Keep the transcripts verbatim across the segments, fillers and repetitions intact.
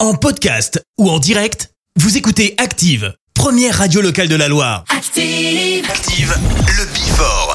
En podcast ou en direct, vous écoutez Active, première radio locale de la Loire. Active, Active, le Before.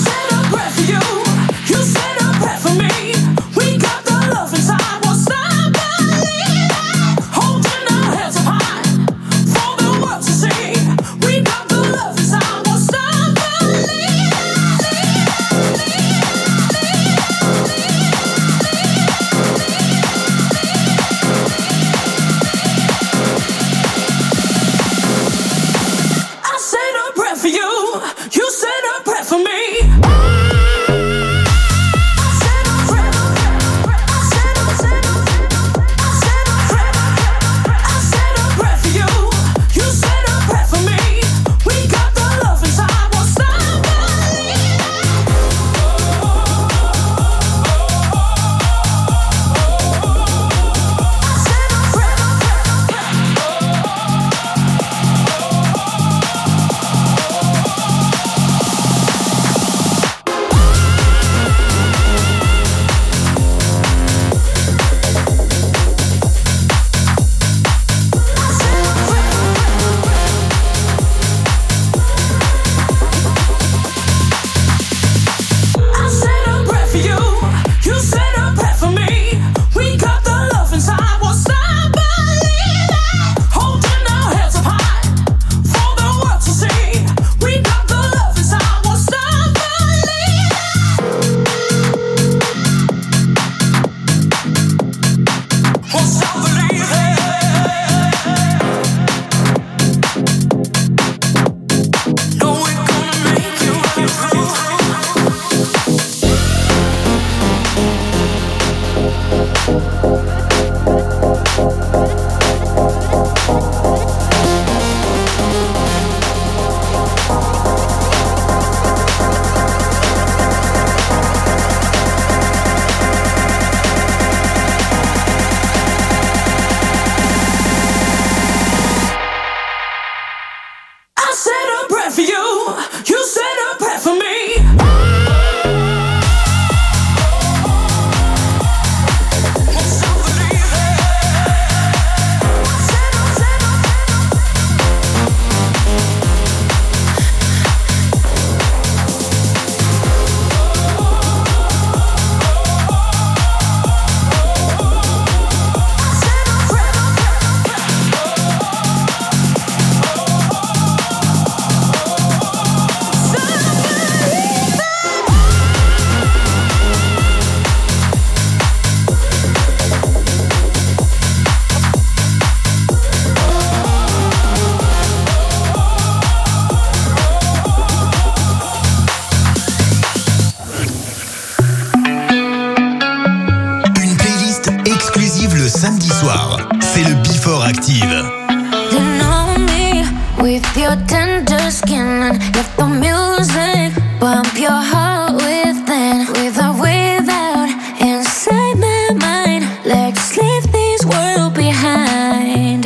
Samedi soir, c'est le Before Active. You know me with your tender skin and with the music. Bump your heart within, with or without, inside my mind. Let's leave this world behind.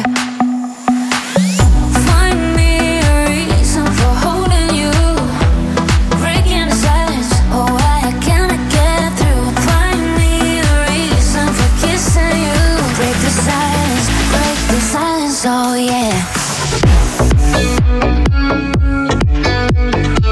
Find me a reason for holding you, breaking the silence. Oh, I cannot get through. Find me a reason for kissing you. Break the silence, break the silence, oh yeah.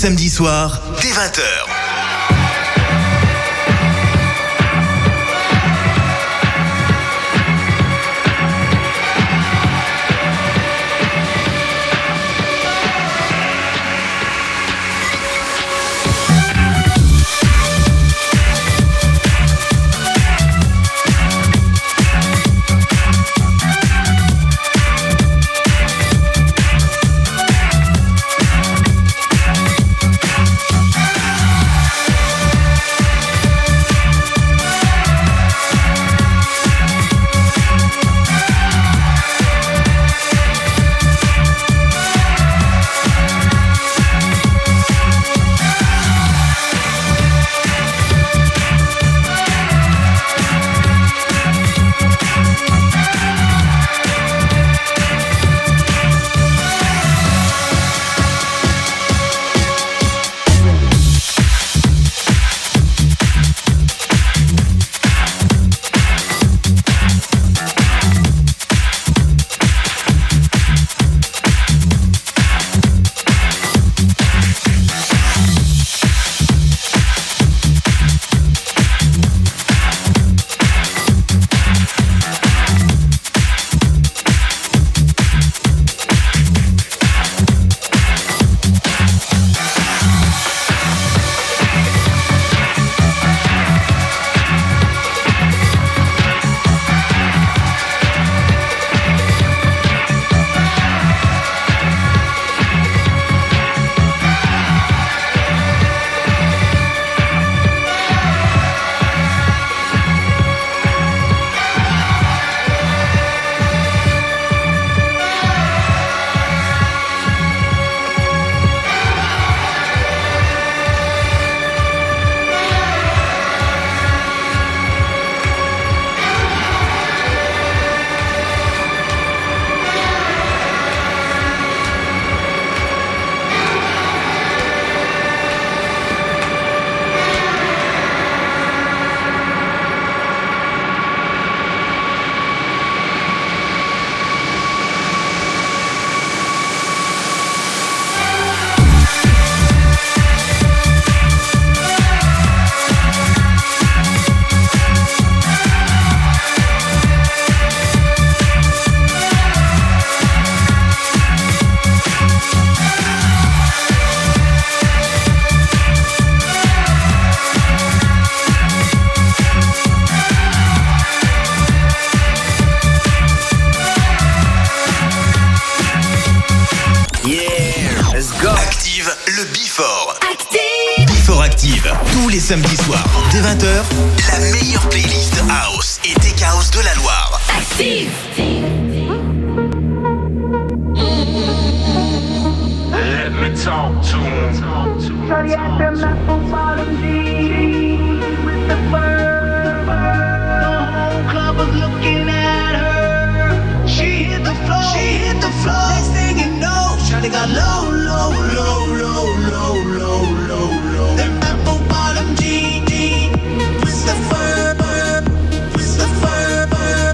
samedis soirs, dès vingt heures. Les samedis soirs, dès vingt heures, la meilleure playlist house et tech house de la Loire. Active. Let me talk to him. Shorty at the apple bottom jeans with the fur. The whole club was looking at her. She hit the floor. She hit the floor. Next thing you know, Shorty got low, low, low, low, low, low, low, low. Them apple bottom jeans with the fur, with the fur.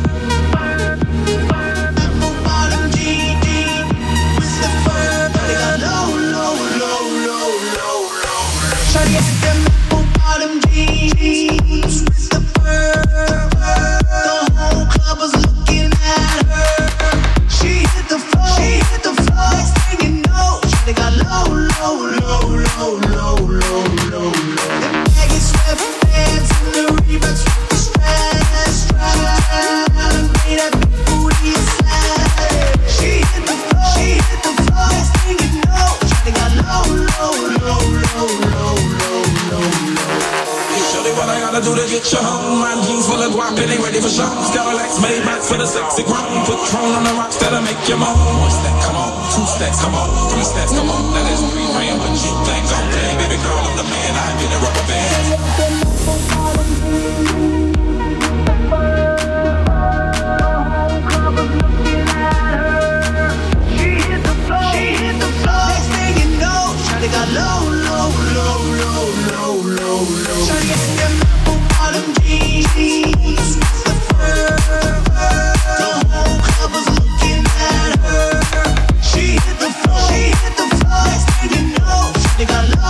Apple bottom jeans with the fur. Shorty got low, low, low, low, low, low. Shorty at them apple bottom jeans with the fur. The whole club was looking at her. She hit the floor. She hit the floor. Next thing you know, Shorty got low, low, low, low, low, low, low, low. Them baggy sweatpants and the Reeboks with the straps, straps. Made that big booty slap. She hit the floor. She hit the floor. Next thing you know, Shorty got low, low, low, low, low, low, low, low. Hey, Shorty, what I gotta do to get you home? My jeans full of guap and they ready for shows. Cadillacs made back for the sexy grown. Put Tron on the rocks that'll make you moan. One step, come on. Two steps, come on. Three steps, come on. That is three grand, but you think I'm play. Baby girl, I'm the man. I ain't been a rubber band. She hit the floor. She hit the floor. Next thing you know, Shorty got low, low, low, low, low, low, low. Shorty got them apple bottom jeans with the fur. The whole club was looking at her. She hit the floor. She hit the floor. Next thing you know, Shorty got low.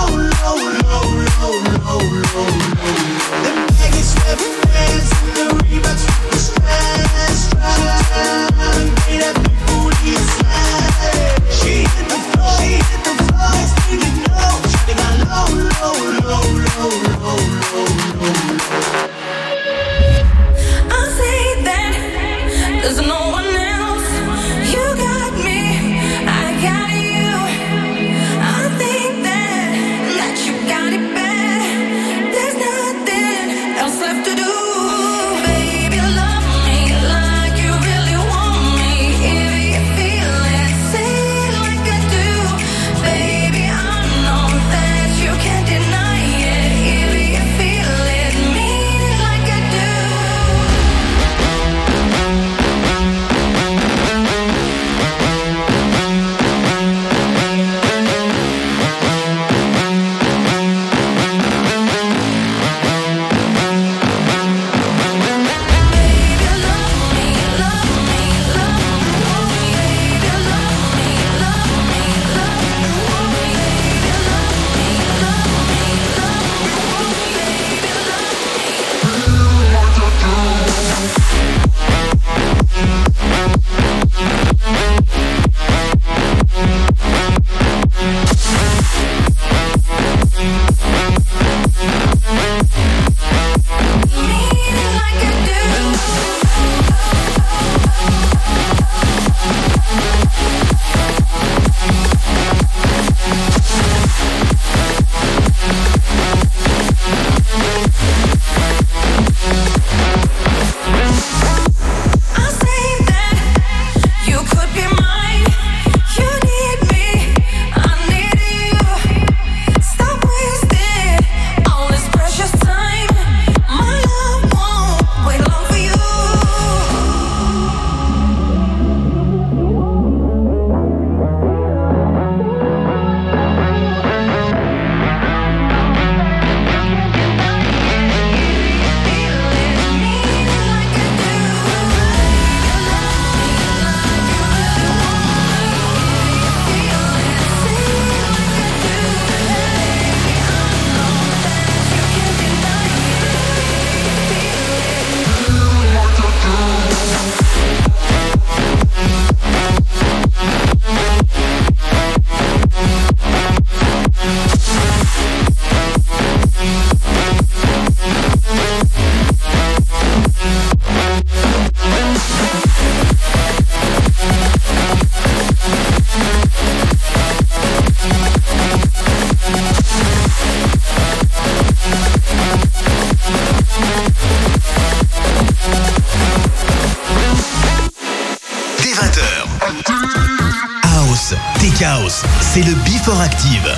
House, Tech House, c'est le Before Active.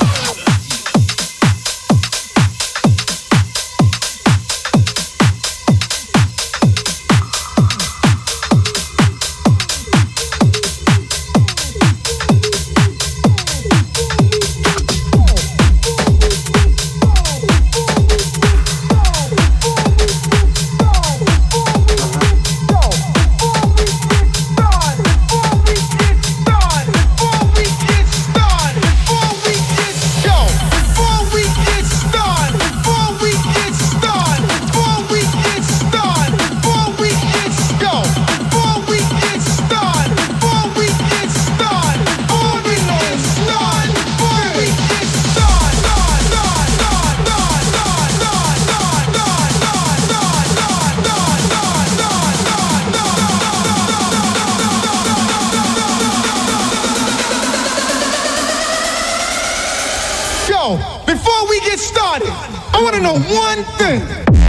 Before we get started, I want to know one thing.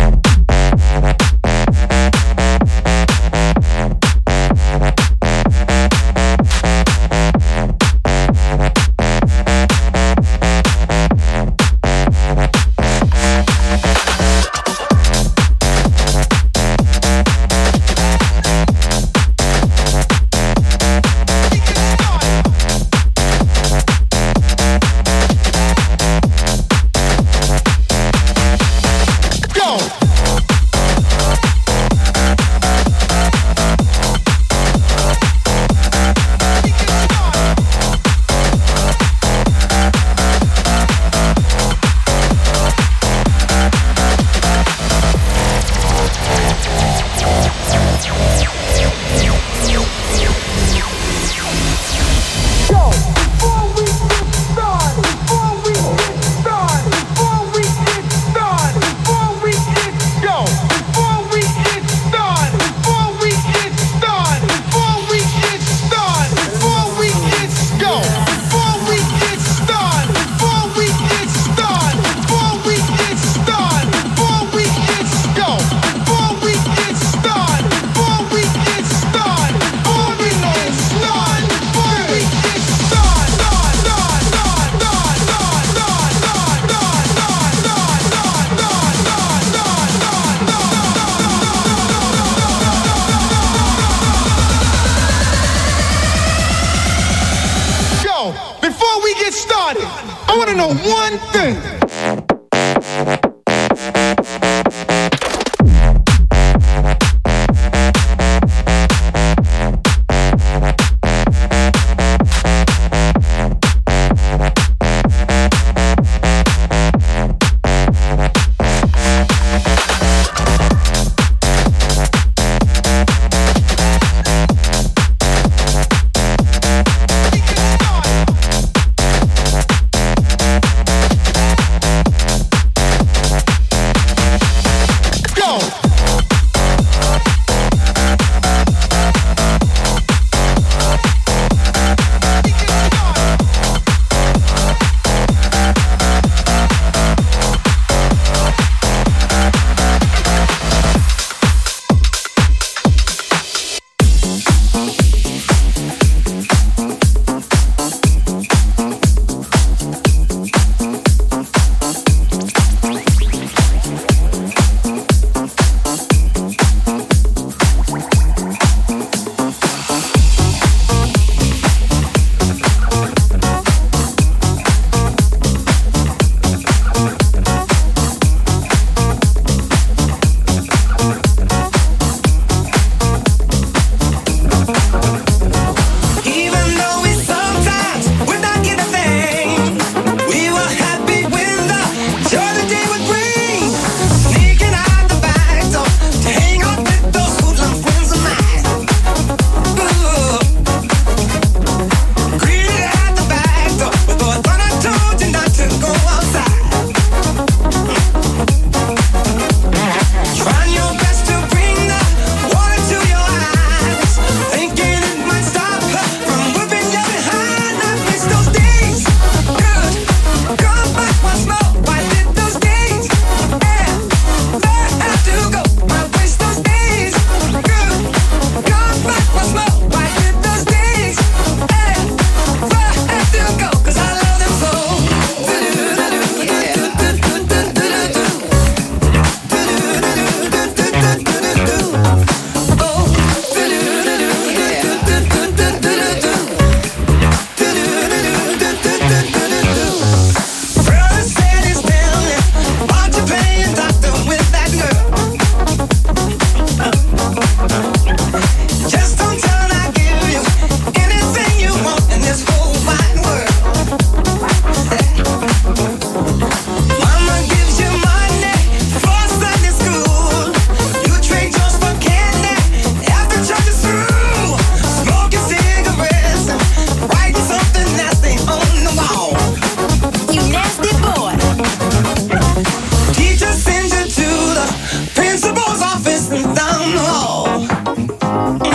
Before we get started, I want to know one thing.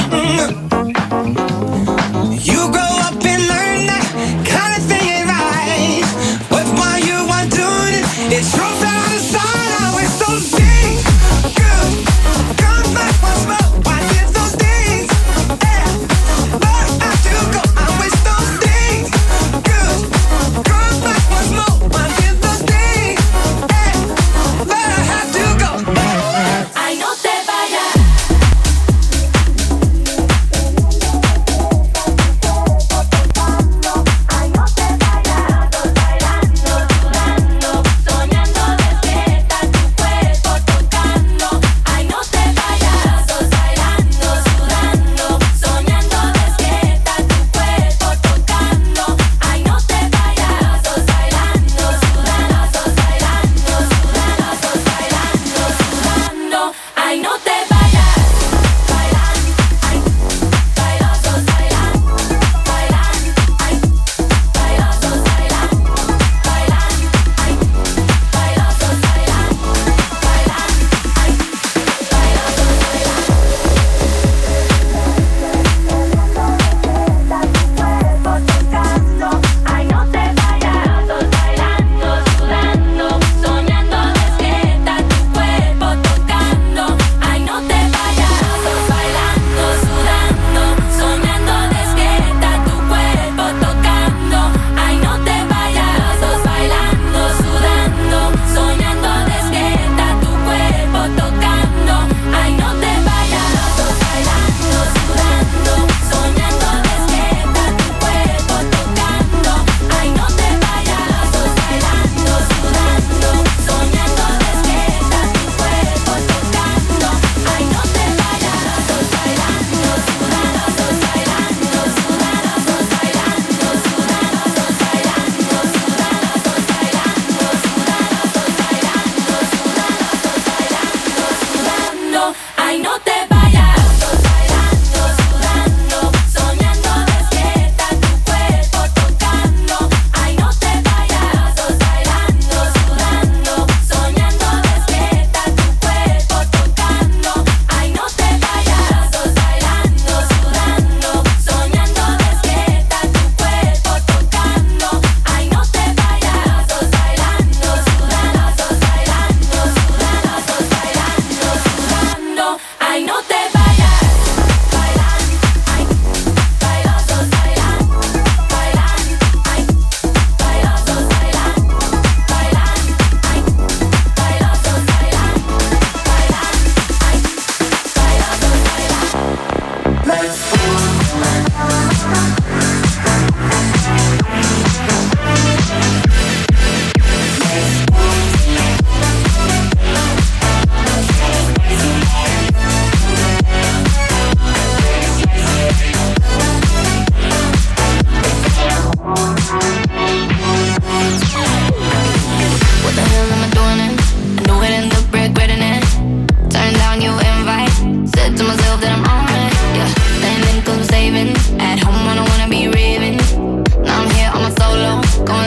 At home, I don't wanna be raving. Now I'm here on my solo, going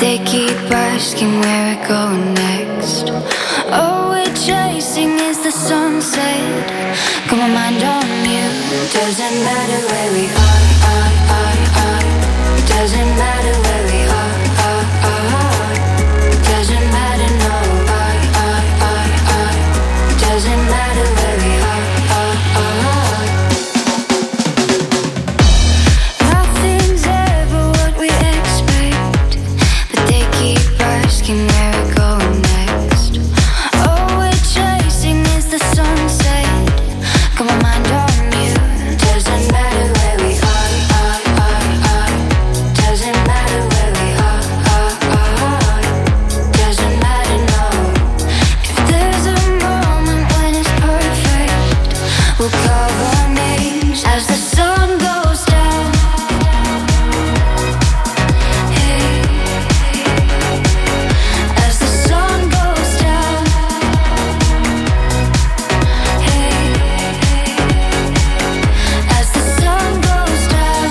they keep asking where we're going next. All we're chasing is the sunset. Got my mind on you. Doesn't matter where we are, are, are, are. Doesn't matter where we are, are, are. Doesn't matter, no, are, are, are, are. Doesn't matter where we are, are, are. Nothing's ever what we expect, but they keep asking where we're going next. All we're chasing is the sunset. Got my mind on you. Doesn't matter where we are, are, are, are. Doesn't matter where we are, are, are. Doesn't matter, no. If there's a moment when it's perfect, we'll carve our names as the sun goes down. Hey, as the sun goes down. Hey, as the sun goes down.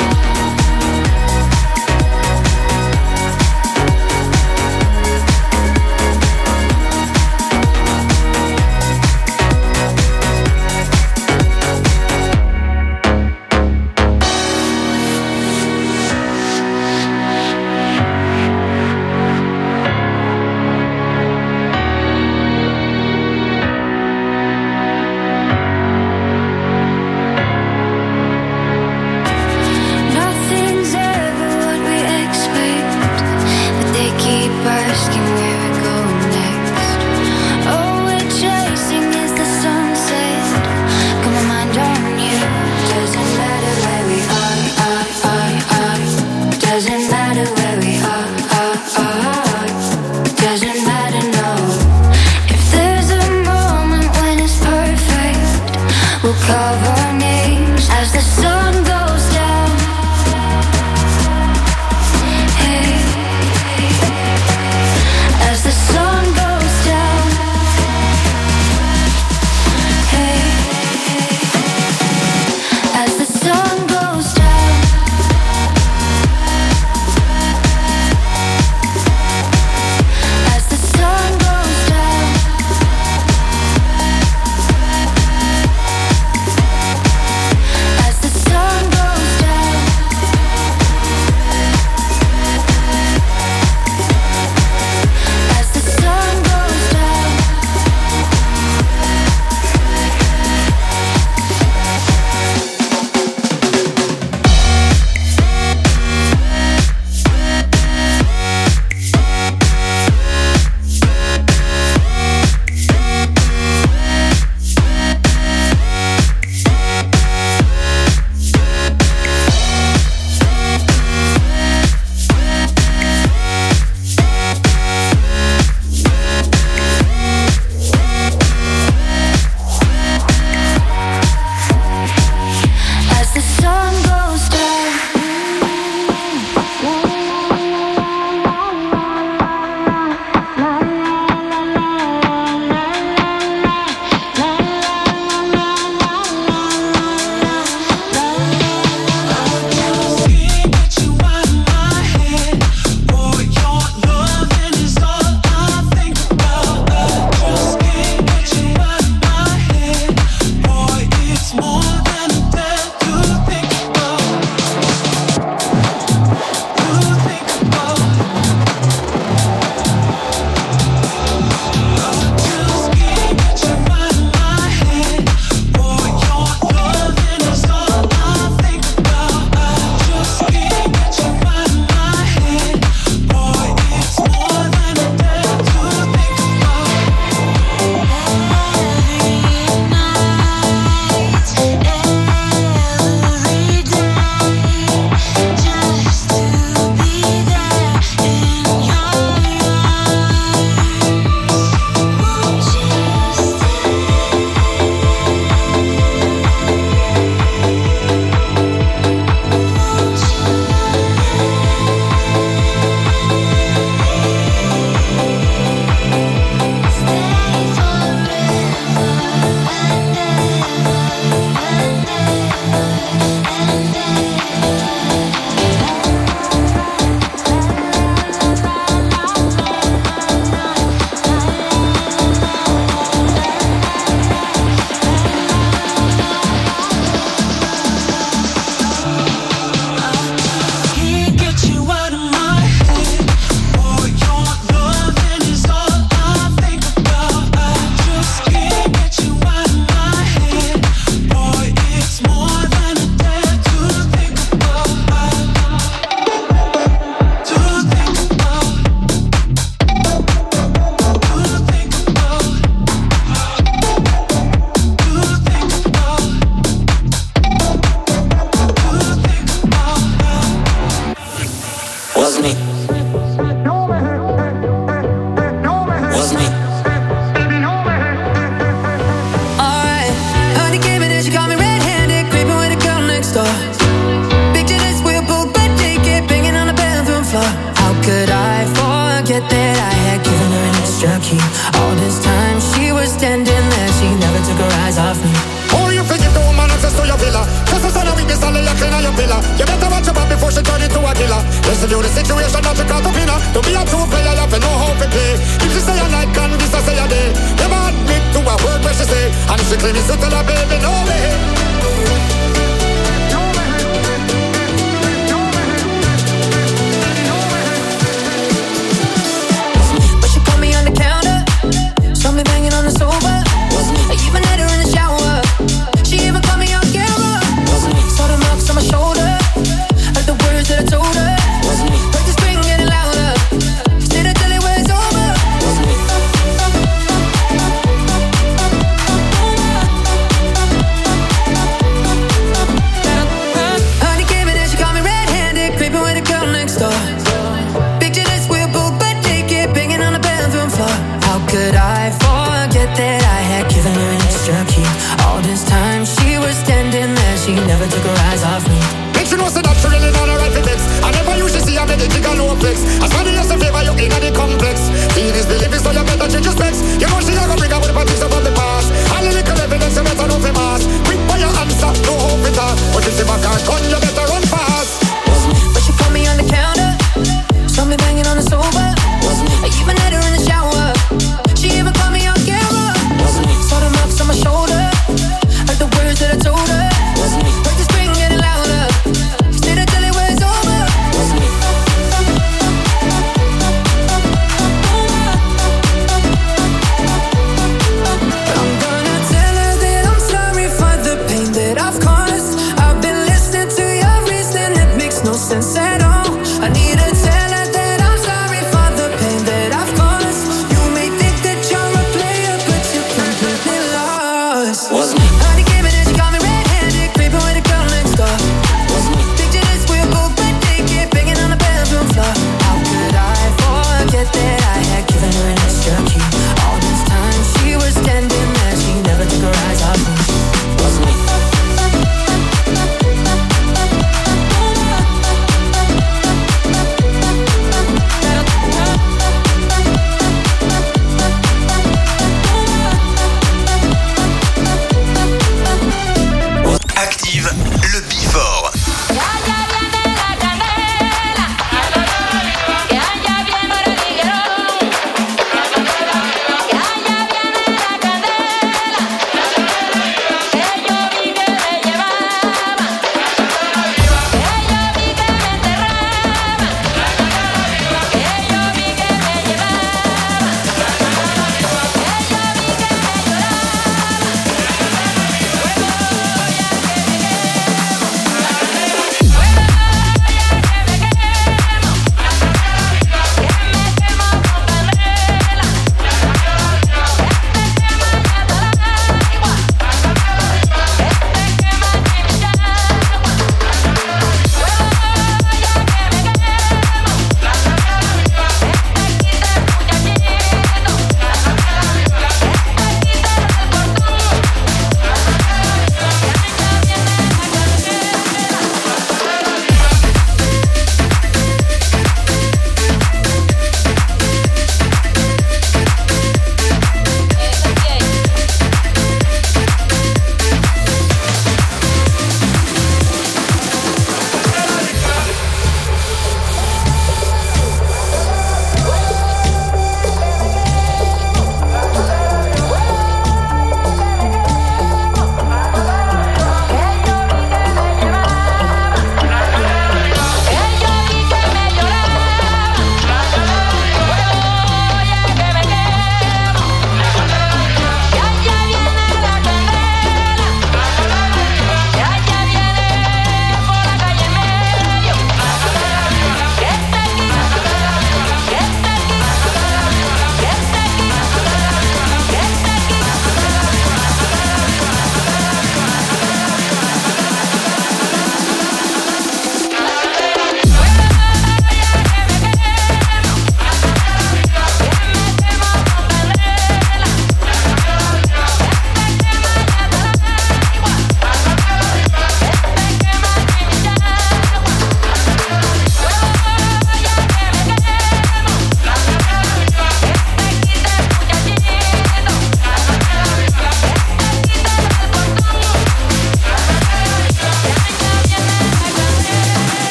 Nothing's ever what we expect, but they keep asking where we're going next. All we're chasing is the sunset. Got my mind on you. Doesn't matter where we are, are, are, are. Doesn't matter where we are, are, are. Doesn't matter, no. If there's a moment when it's perfect, we'll carve our names as the sun goes down. Hey, extra key. All this time she was standing there, she never took her eyes off me. Oh, you forgive the woman access to your villa. Just a son of weakness, I'll lay you clean on your pillar. You better watch your back before she turn into a killer. Listen to the situation, not to cut up in her. To be a true player, you have to know how to play. If she say a night, can be so say a day. Never admit to a word where she say. And if she claim it's to tell her baby, no way. But she caught me on the counter, saw me banging on the sofa. I even had her in the shower. She even caught me on camera. Saw the marks on my shoulder, heard the words that I told her. Heard the scream getting louder, stayed until it was over.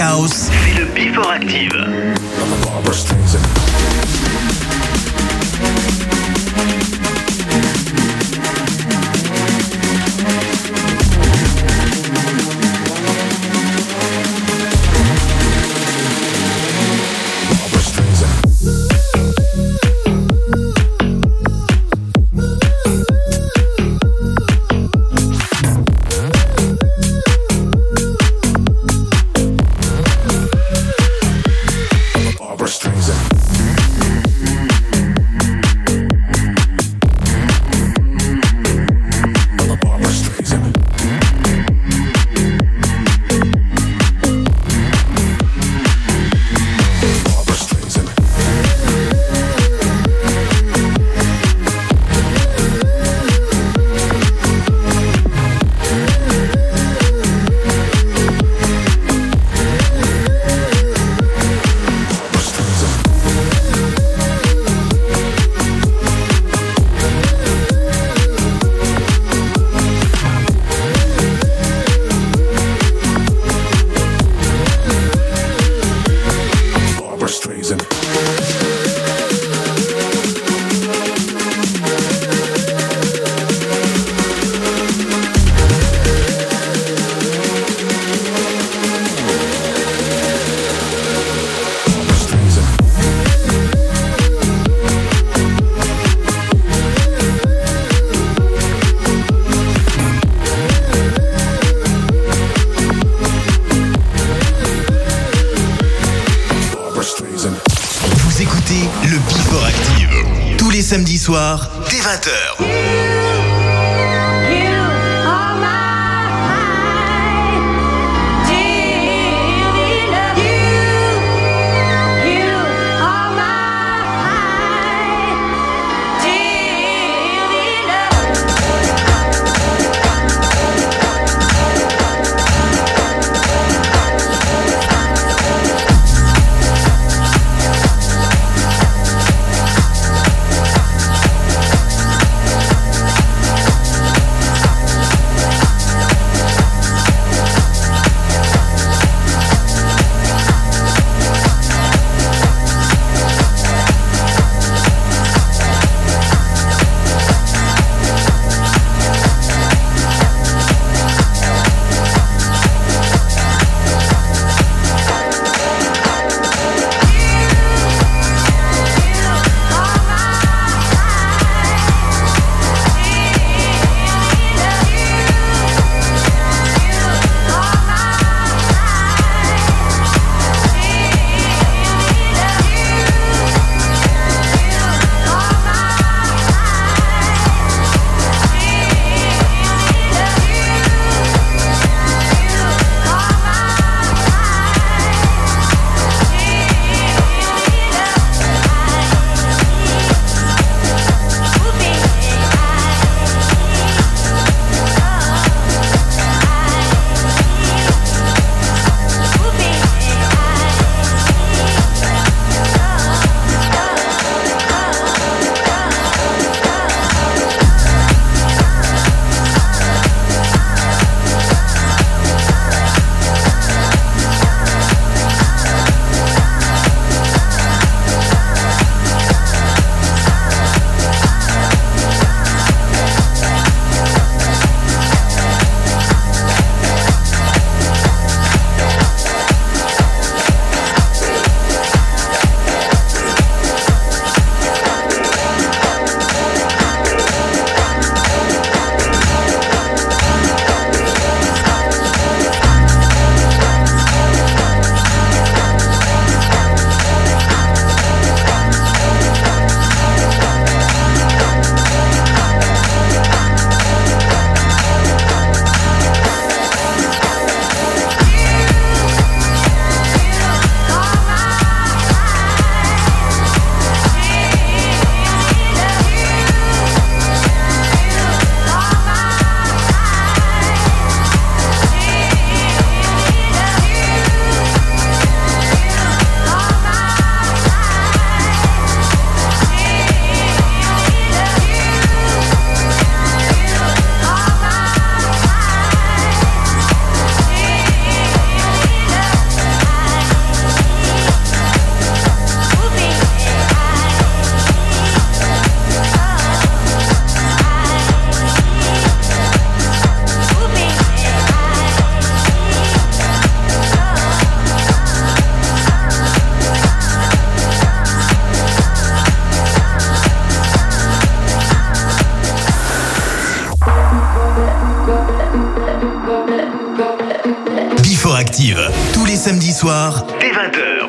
House, c'est le Before Active. Samedi soir, dès vingt heures. Active, tous les samedis soirs, dès vingt heures.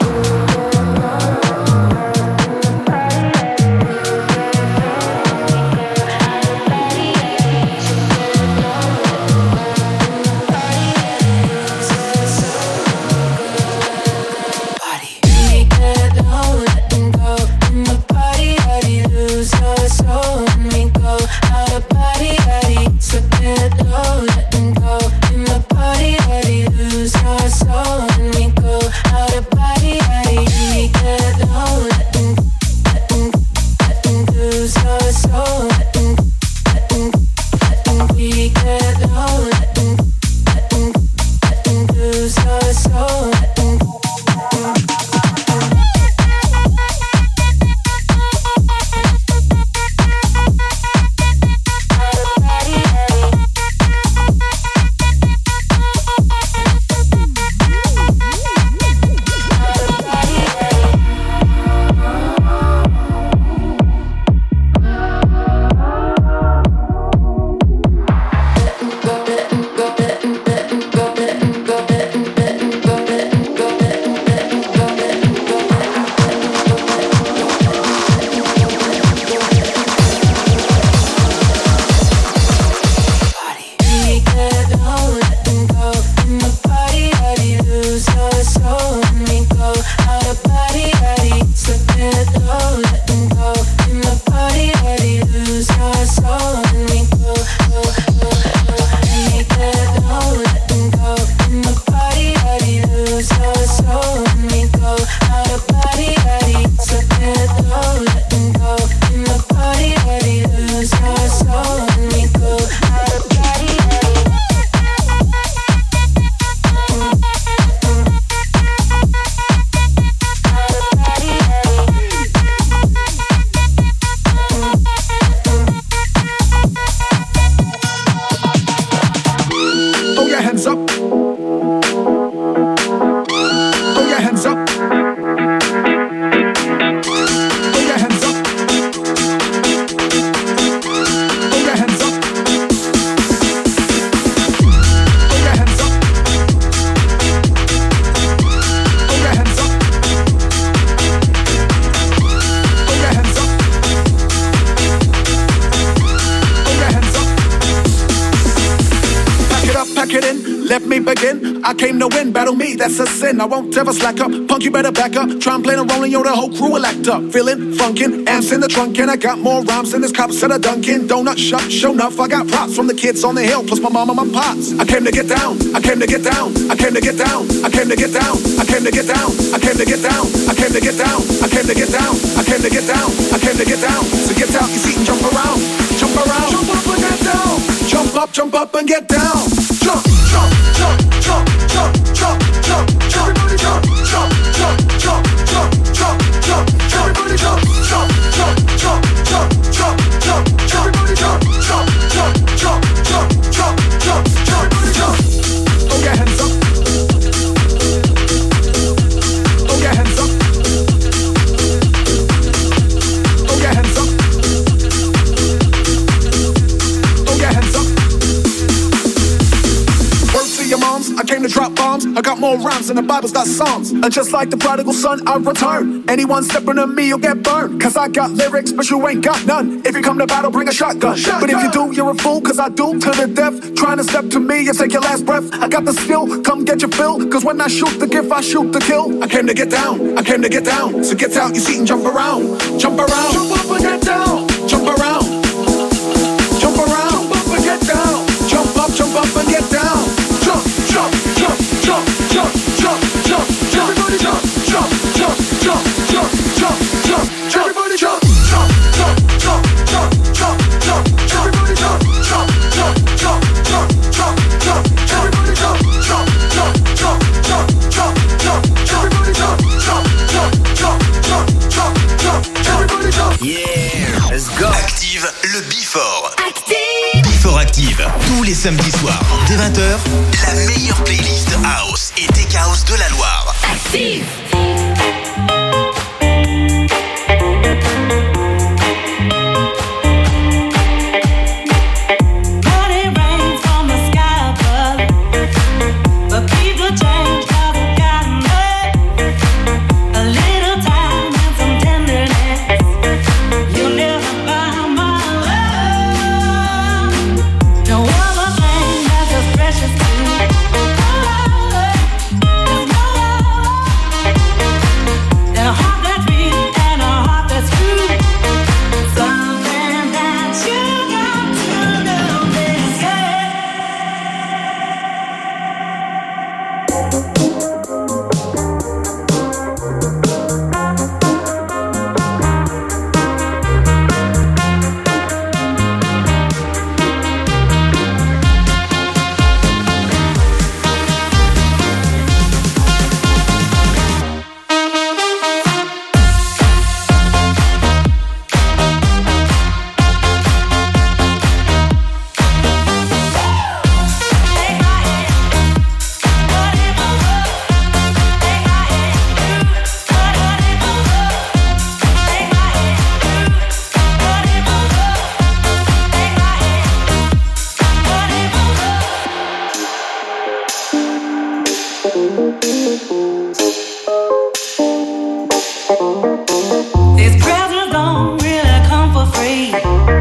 I came to win, battle me, that's a sin. I won't ever slack up, punk you better back up. Try and play the role and yo, the whole crew will act up. Feeling, funkin', amps in the trunk, and I got more rhymes than this cops at a Dunkin' Donut shop. Show enough, I got props from the kids on the hill, plus my mom and my pops. I came to get down, I came to get down, I came to get down, I came to get down, I came to get down, I came to get down, I came to get down, I came to get down, I came to get down, I came to get down. So get out your seat and jump around, jump around, jump up and get down, jump up, jump up and get down, jump, jump, jump, jump, jump, jump, jump, jump, everybody jump, jump, jump, jump, jump, jump, jump, everybody jump, jump, jump, jump, jump, jump, jump, everybody jump, jump, jump, jump, jump, jump, jump, everybody jump. Throw your hands up. Throw your hands up. Throw your hands up. Throw your hands up. Word to your moms, I came to drop bombs. I got more rhymes than the Bible's got songs. And just like the prodigal son, I return. Anyone stepping to me, you'll get burned. Cause I got lyrics, but you ain't got none. If you come to battle, bring a shotgun. shotgun. But if you do, you're a fool, cause I do to the death. Trying to step to me and take your last breath. I got the skill, come get your fill. Cause when I shoot the gift, I shoot the kill. I came to get down, I came to get down. So get out your seat and jump around. Jump around, jump up and get down. Jump around, jump around, jump up and get down. Jump up, jump up and get down. Jump, jump, jump, jump, jump, jump, jump, jump, everybody jump, jump, jump, jump, jump, jump, jump, everybody jump, jump, jump, jump, jump, jump, jump, everybody jump, jump, jump, jump, jump, jump, jump, everybody jump, jump, jump, jump, jump, jump, jump, everybody jump, jump, jump, jump, jump, jump, jump, everybody jump. Yeah, let's go. Active le Before. Active. Before Active, tous les samedis soirs, dès vingt heures, la meilleure playlist House et Tech House de la Loire. Active. But it rains from the sky above, but people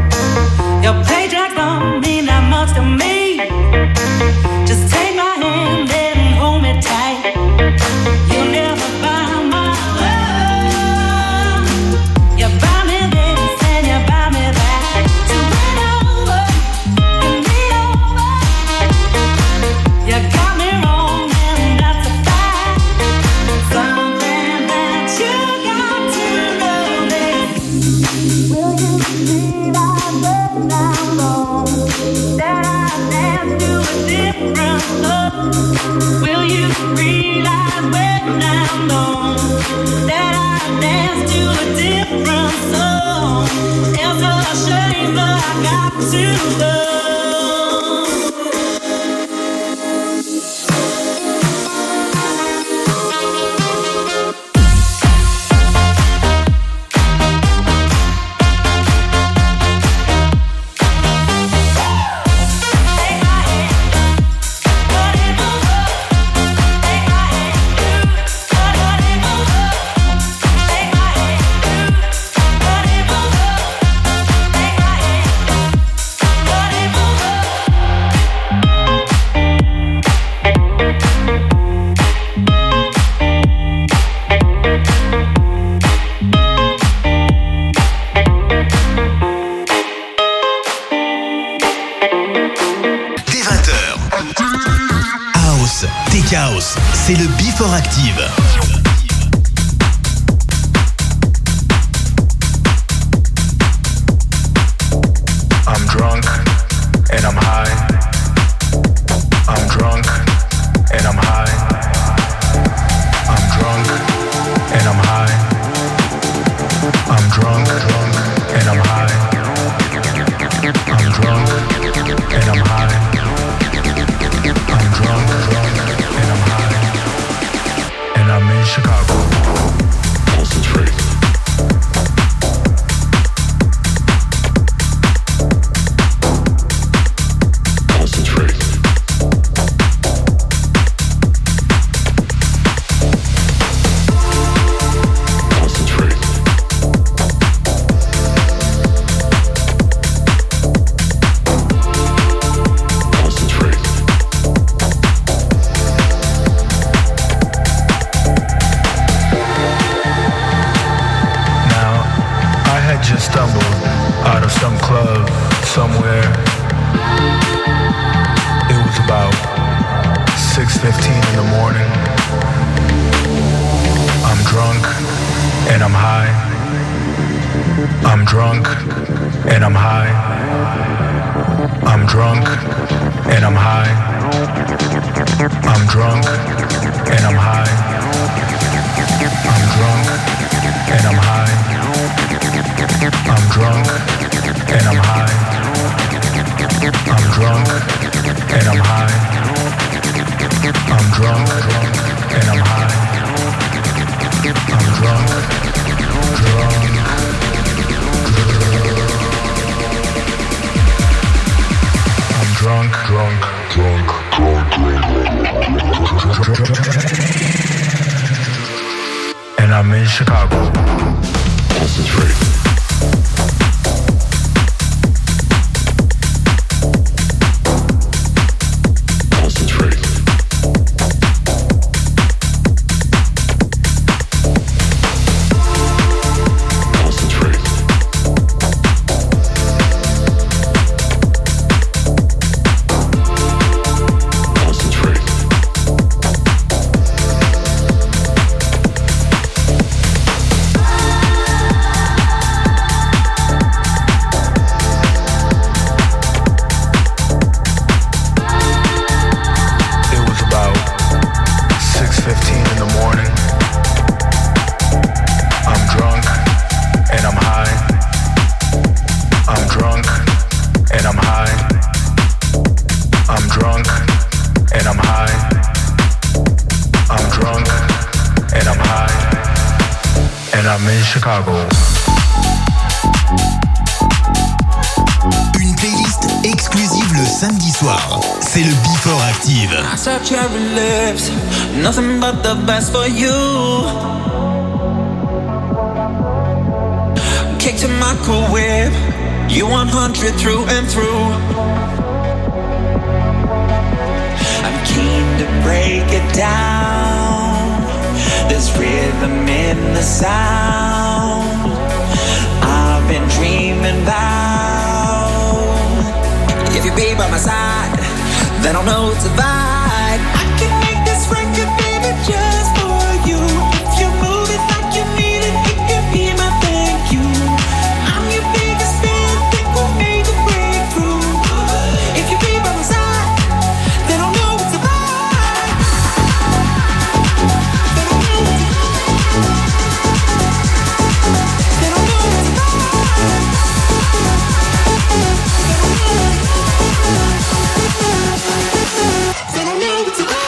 Your paycheck don't mean that much to me. Just take my hand and hold me tight. You'll never buy my love. You buy me this and you buy me that. So win over and me over. You got me wrong and that's a fact. Something that you got to know is, will you realize when I'm gone that I dance to a different love? Will you realize when I'm gone that I dance to a different song? It's a shame that I got to love. House, c'est le Before Active. I'm drunk and I'm high. I'm drunk and I'm high. I'm drunk and I'm high. I'm drunk, drunk and I'm high. I'm drunk and I'm high. I'm drunk, drunk and I'm high. And I'm in Chicago. Concentrate. Une playlist exclusive le samedi soir. C'est le Before Active. I saw cherry lips, nothing but the best for you. Kicked in my cool whip, You one hundred through and through. I'm keen to break it down. There's rhythm in the sound I've been dreaming about. If you be by my side, then I'll know it's a vibe. I can make this record, baby, just for you. If you move it like you need it, it can be my thank you. I'm your biggest fan, think we'll make a breakthrough. If you be by my side, then I'll know it's a vibe. Then I'll know it's a vibe. Then I'll know it's a vibe. Then I'll know it's a vibe.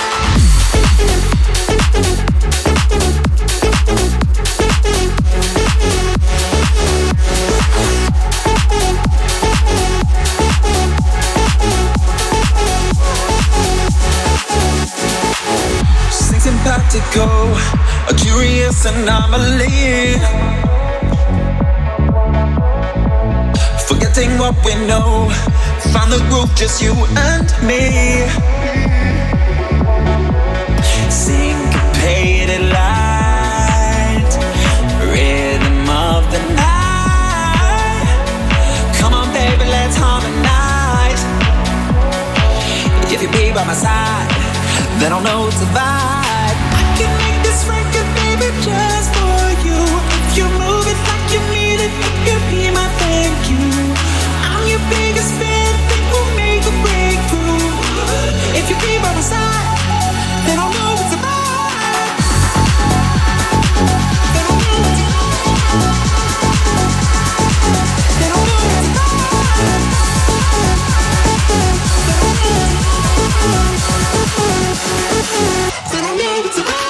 Sympathico, a curious anomaly. Forgetting what we know, find the groove, just you and me. Syncopated light, rhythm of the night. Come on, baby, let's harmonize. If you be by my side, then I'll know it's a vibe. I can make this record, baby, just for you. If you move it like you need it, it could be my thank you. I'm your biggest fan, think we'll make a breakthrough. If you be by my side, then I'll know it's a vibe. Then I'll know it's a vibe. Then I'll know it's a vibe. Then I'll know it's a vibe. Then I'll know it's a vibe.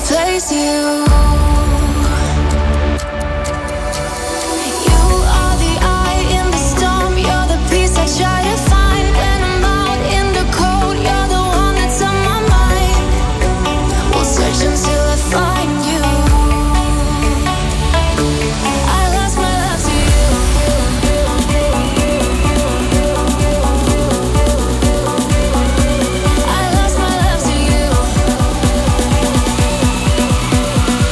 replace you. Try to find when I'm out in the cold. You're the one that's on my mind. We'll search until I find you. I lost my love to you. I lost my love to you.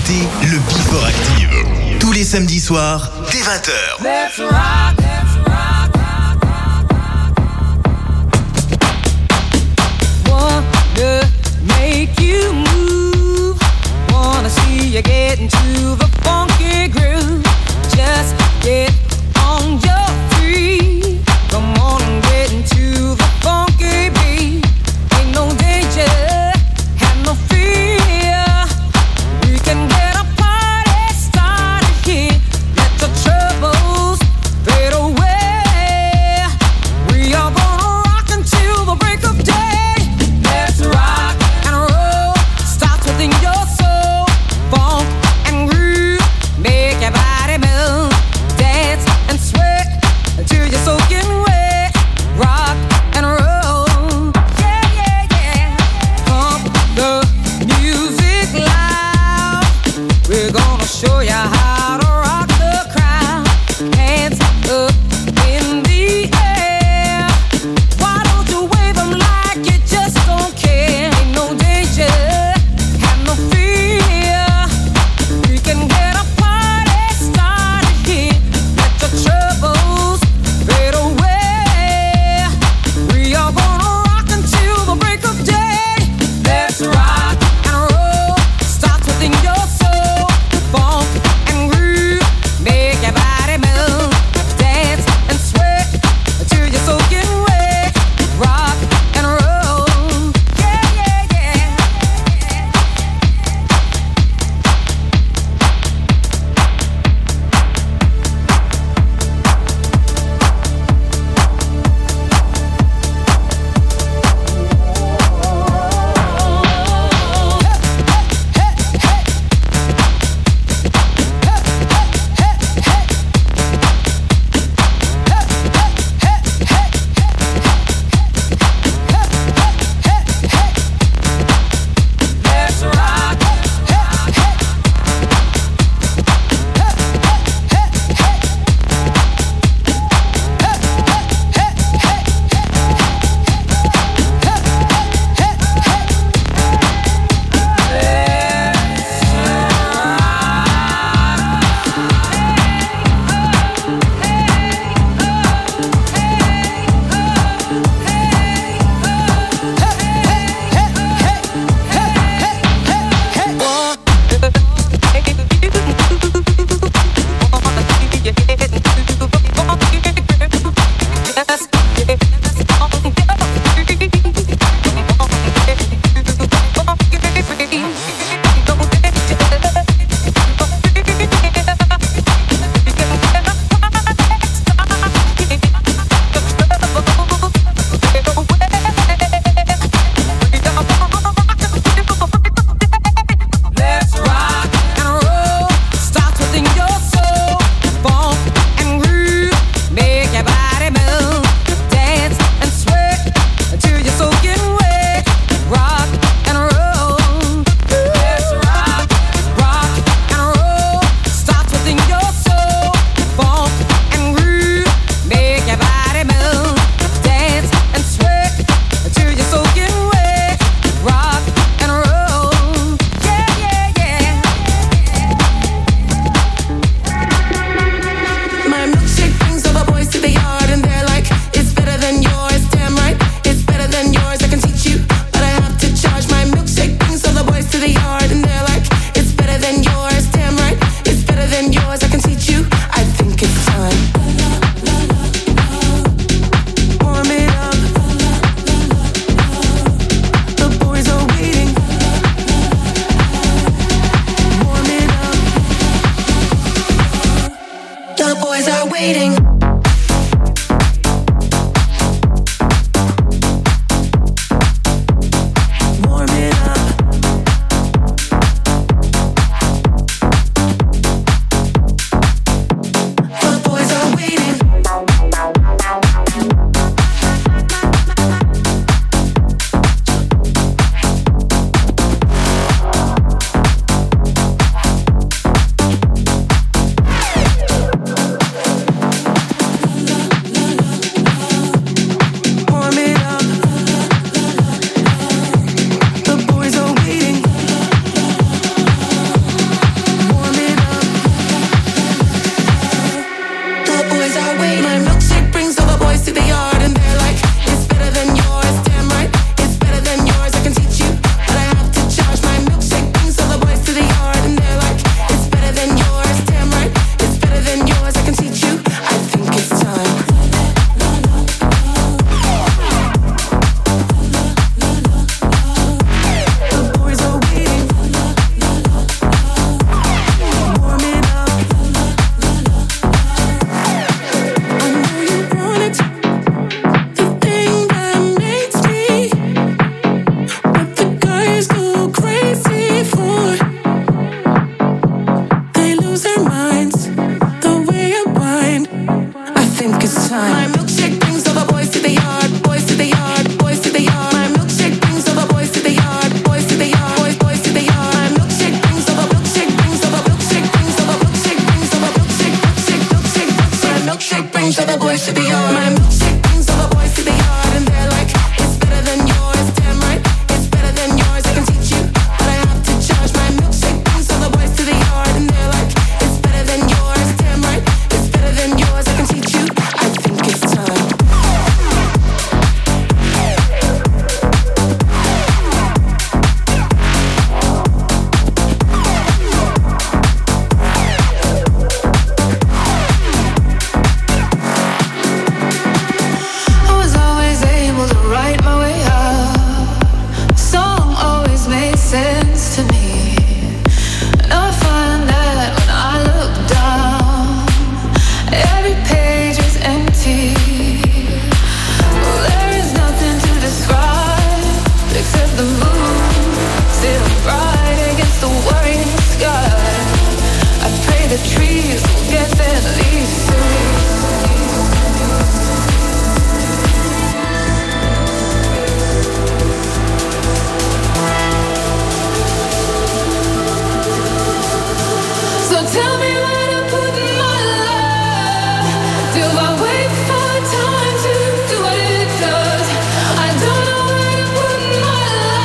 écoutez le Before Active. Tous les samedis soirs, dès vingt heures. Let's rock, let's rock, rock, rock, rock. Wanna make you move. Wanna see you get into the funky groove. Just get on your feet. Come on and get into the funky beat. Ain't no danger, have no fear. We can get a party started here. Let the troubles fade away. We are gonna rock until the break of day. Let's rock and roll. Starts within your soul. Funk and groove. sense to me. And I find that when I look down, every page is empty. Well, there is nothing to describe except the moon still bright against the worrying sky. I pray the trees will get their leaves soon. Tell me where to put my love. Do I wait for time to do what it does? I don't know where to put my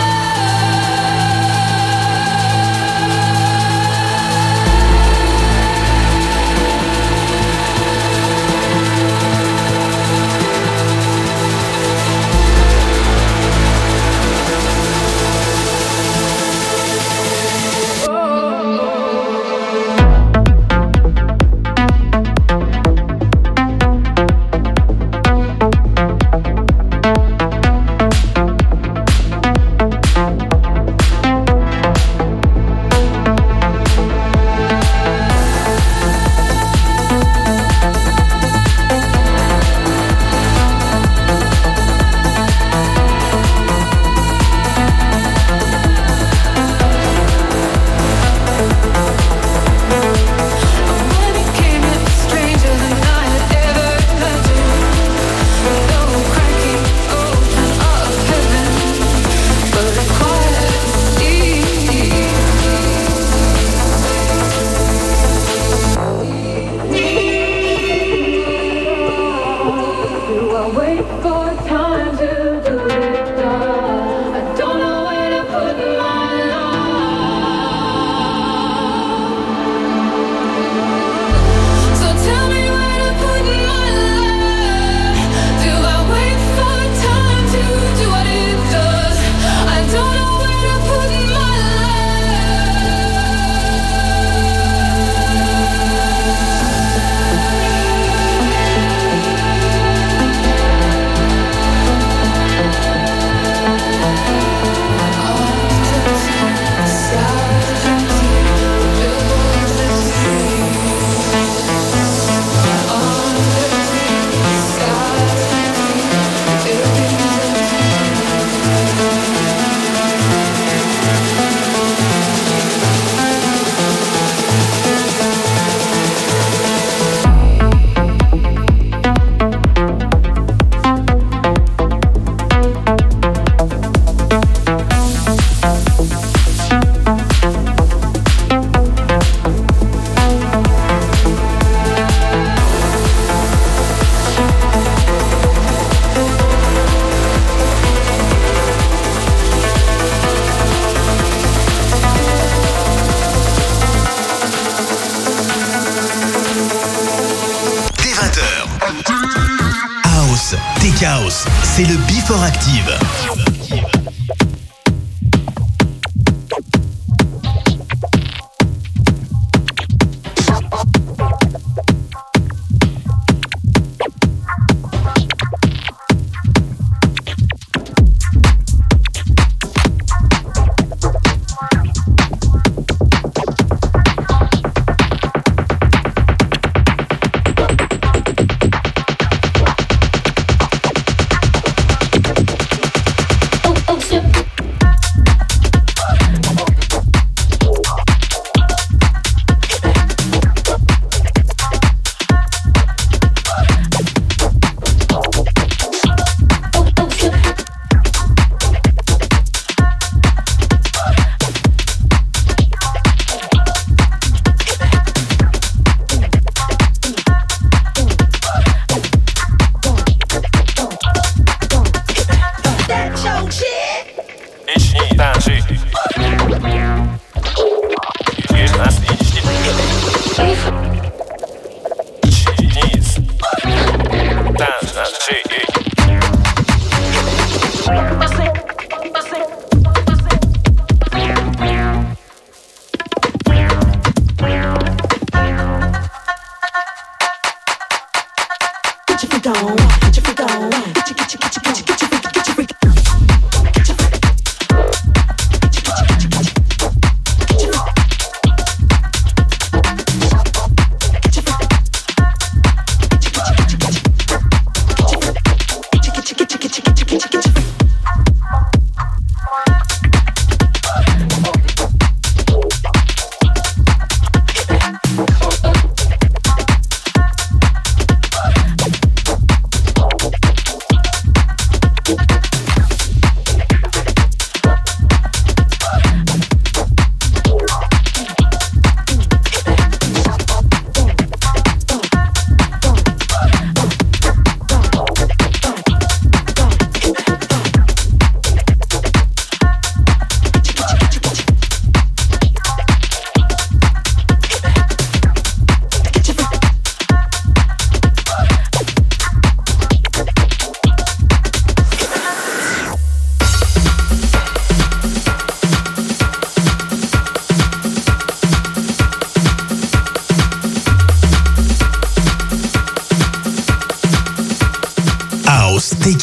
House, c'est le Before Active.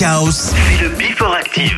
Tech House, c'est le Before Active.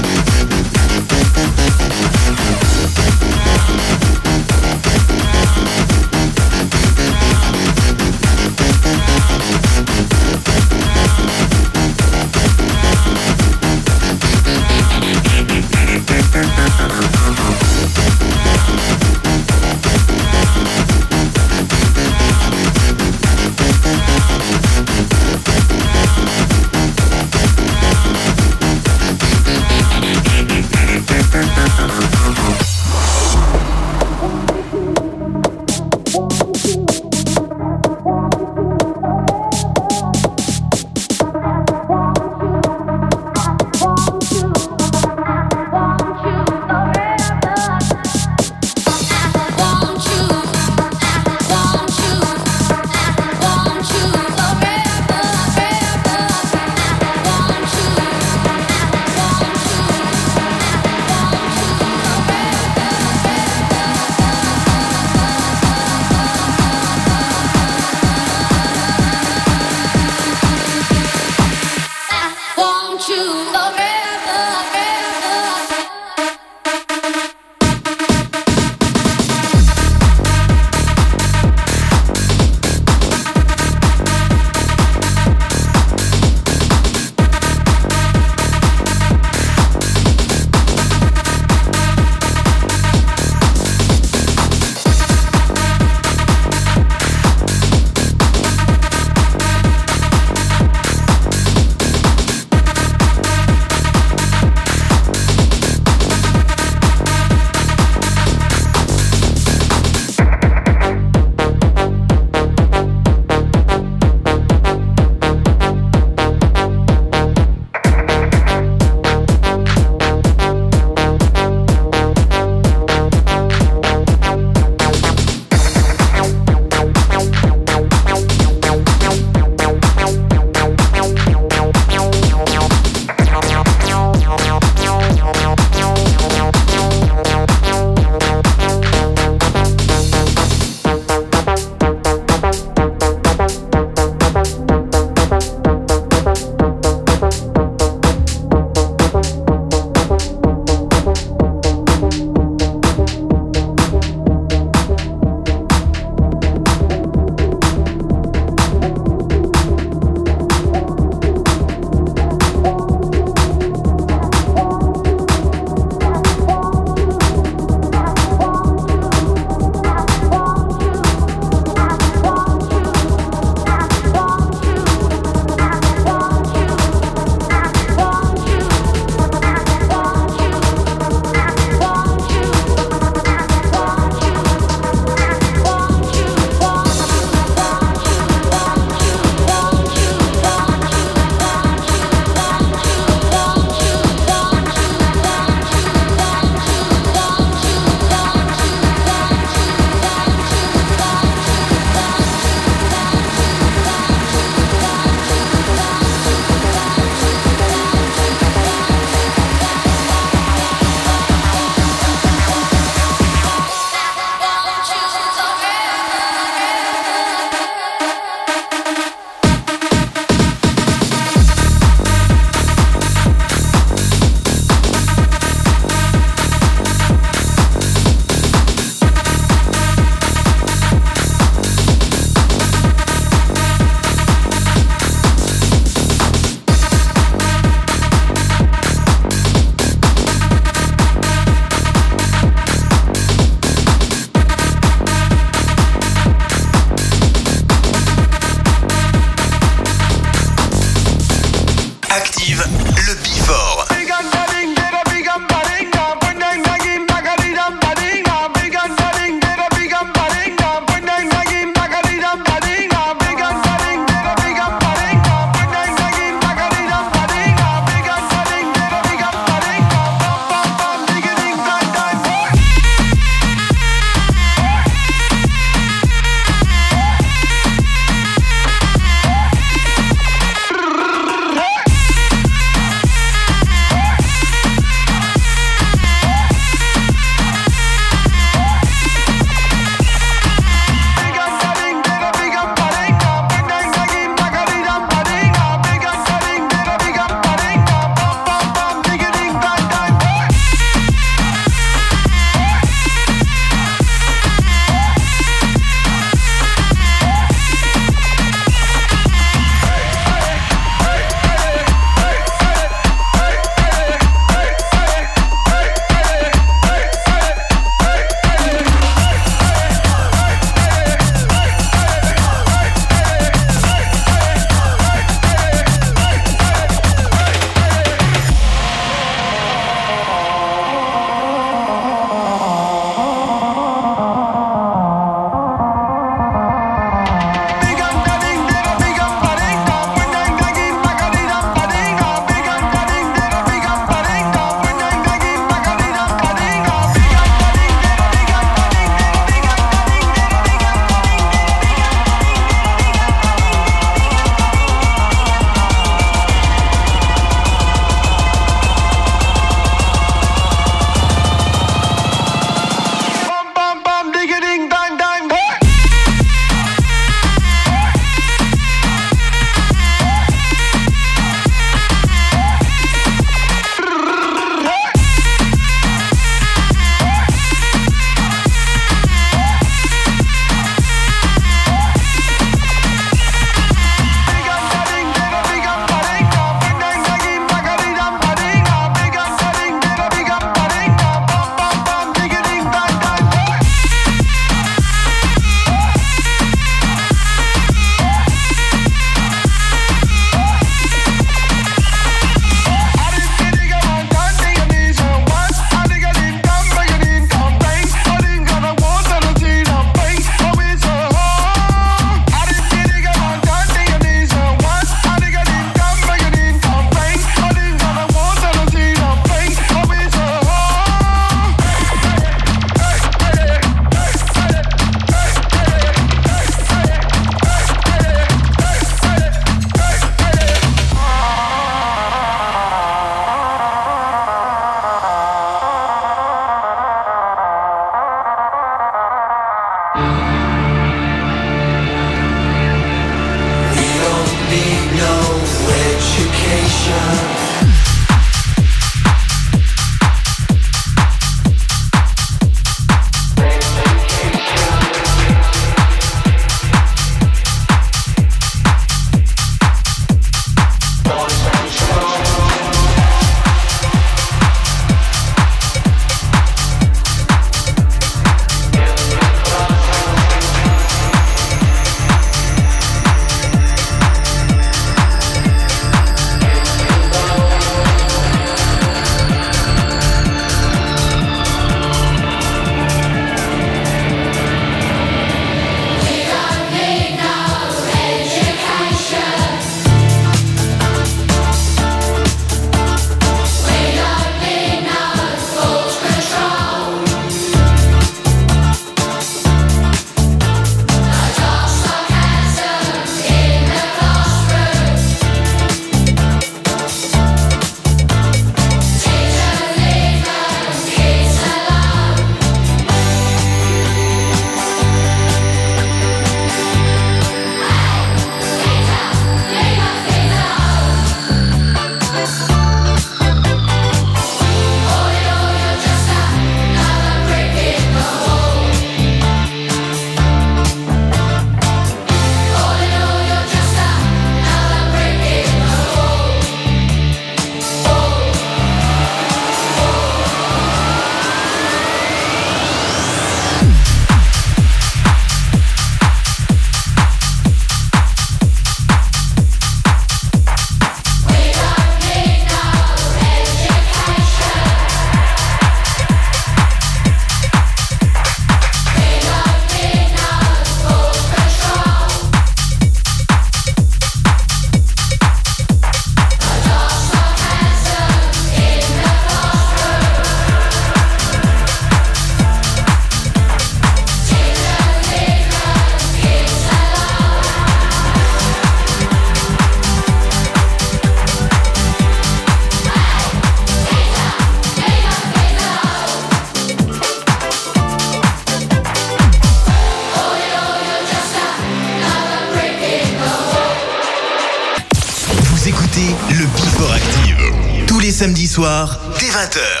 Samedi soir, dès vingt heures.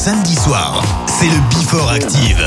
samedi soir. C'est le Before Active.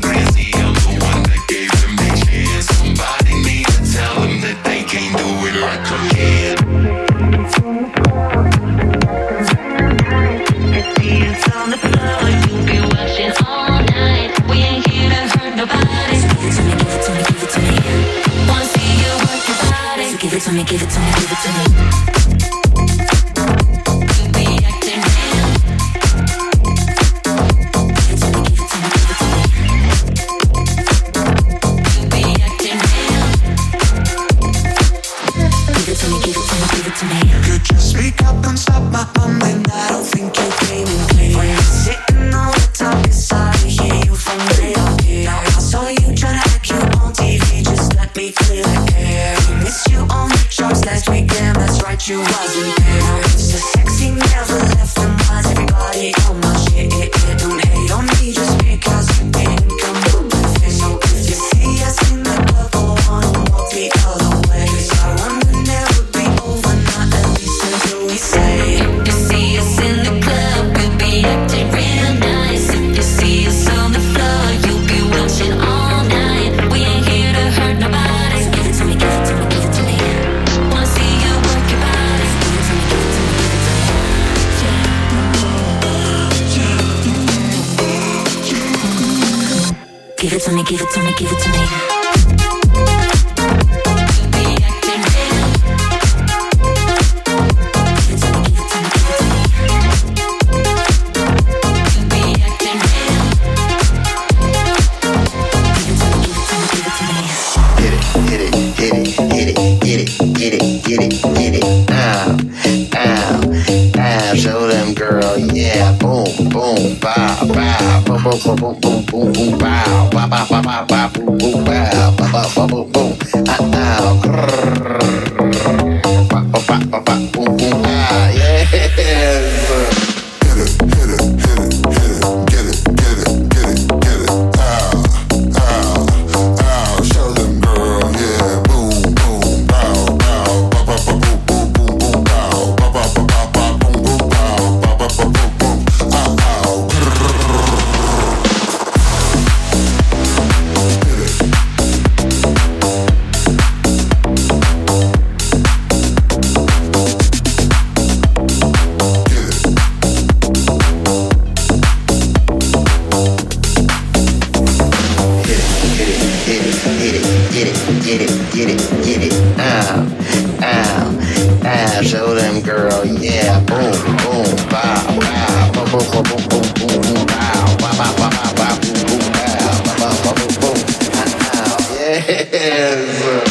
Can't do it like it to me. Could you speak up and stop my bumming? I don't think you're gaming clear. When you're sitting on the top, it's hard to hear you from way up here. I saw you trying to act cute on T V, just let me clear the air. We missed you on the charts last weekend, that's right, you wasn't there. It's a sexy never left the minds, everybody on my shit. Don't hate on me just because you didn't come up with it. So if you see us in the club, go on and walk the other way. 'Cause I want to never be over, not at least until we say. If you see us in the club, we'll be acting real nice. If you see us on the floor, you'll be watching all night. We ain't here to hurt nobody. So give it to me, give it to me, give it to me. Wanna see you work your body. So give it to me, give it to me, give it to me. Give it to me, give it to me, give it to me. Show them, girl, yeah, boom, boom, bow, bow, boom, boom, boom, boom, boom, boom, boom, bow, bow, bow, bow, bow, bow, boom, boom, bow, bow, bow, bow, boom, boom, ah, ah, grrrr, bow, bow, bow, bow, bow, boom, boom, ah, yes. Hit it, hit it, hit it, hit it, get it, get it, get it, get it, ow, ow, ow, show them, girl, yeah, boom, boom, bow, bow, bow, bow, bow, boom, boom, boom, boom, bow, bow, bow, bow, bow, bow, boom, boom, bow, bow, bow, bow, boom, boom, ah, ow, grrrr. Get it, get it, get it, ow, ow, ow, show them, girl, yeah, boom, boom, bow, bow, boom, boom, boom, boom, boom, boom, boom, bow, bow, bow, bow, bow, bow, boom, boom, bow, bow, bow, bow, boom, boom, ow, yes.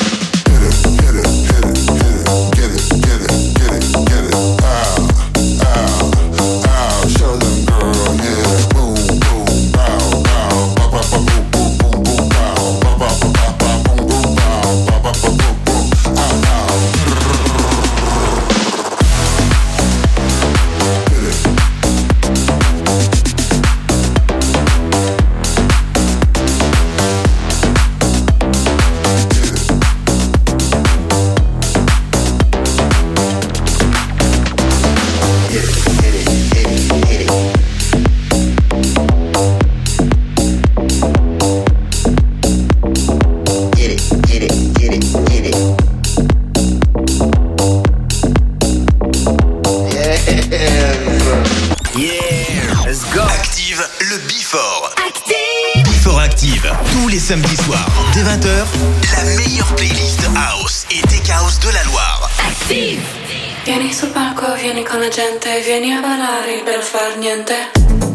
Samedi soir, dès vingt heures, la meilleure playlist house et tech house de la Loire. Active! Vieni sul palco, vieni con la gente, vieni a ballare per far niente.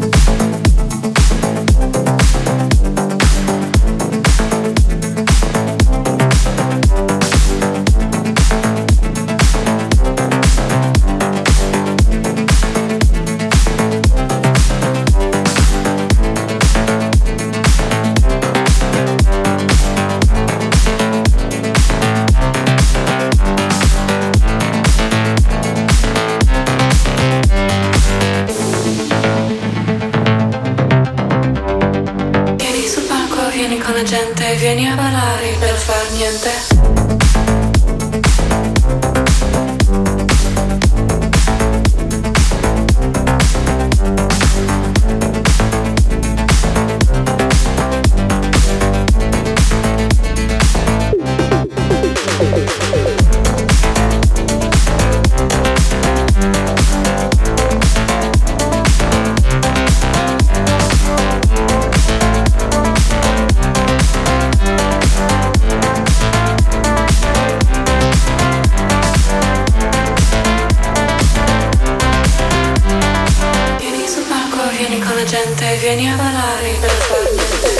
Vieni a ballare per far niente. Vieni a ballare per far niente.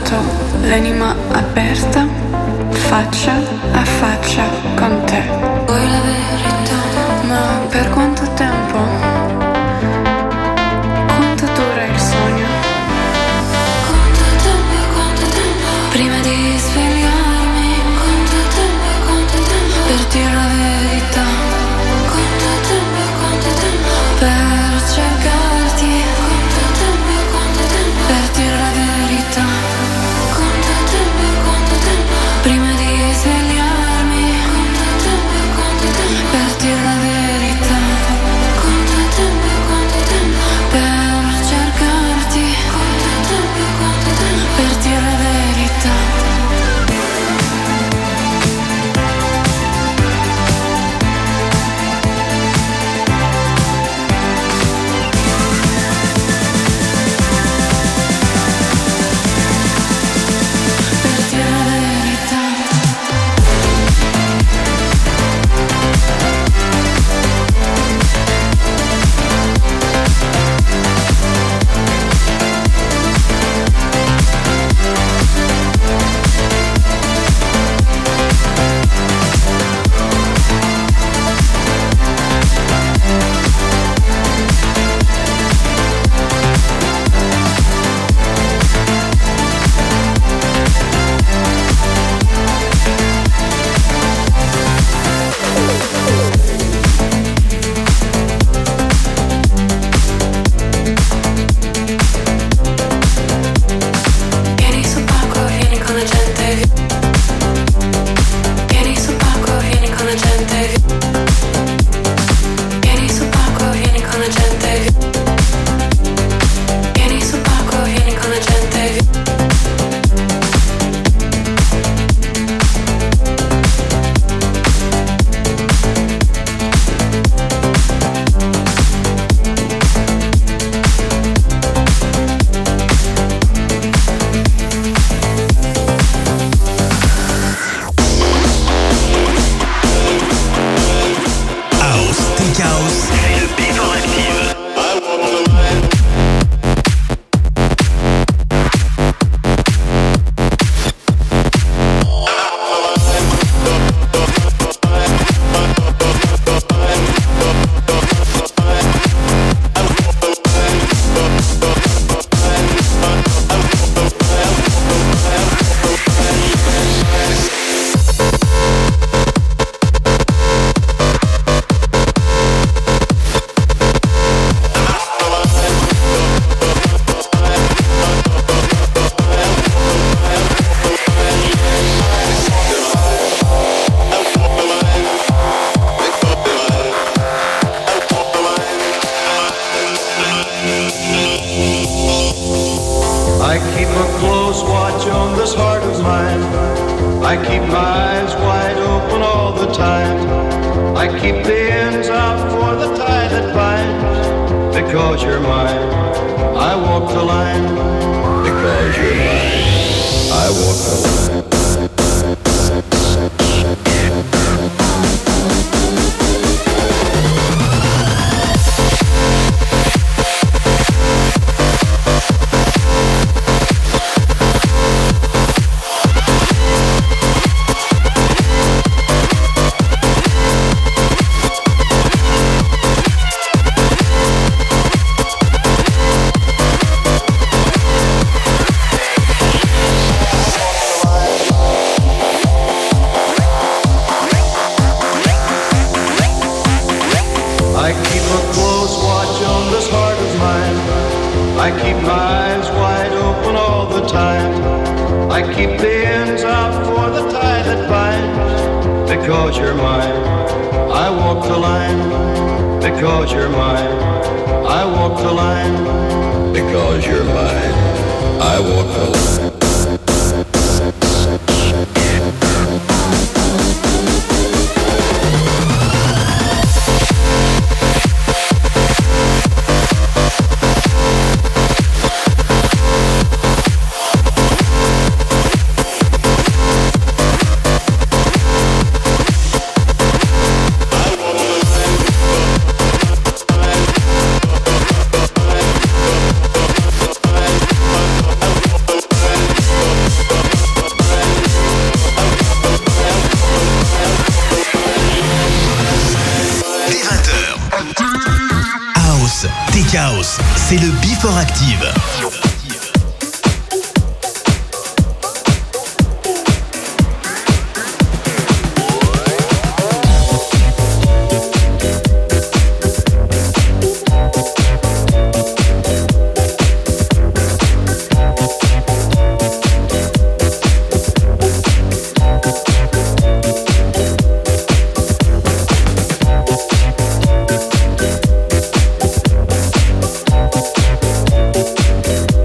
porto l'anima aperta, faccia a faccia con te. Vuoi la verità? Ma per quanto tempo? Quanto dura il sogno? Quanto tempo, quanto tempo? Prima di svegliarmi. Quanto tempo, quanto tempo? Per dire la verità. Quanto tempo, quanto tempo? Per cercarti. Quanto tempo, quanto tempo? Per dire la verità. Quanto tempo, quanto tempo? Prima di svegliarmi. Quanto tempo, quanto tempo? Per dire la verità. Quanto tempo, quanto tempo? Per cercarti. Quanto tempo, quanto tempo? Per dire la verità. Tech House, c'est le Before Active. We'll be right back.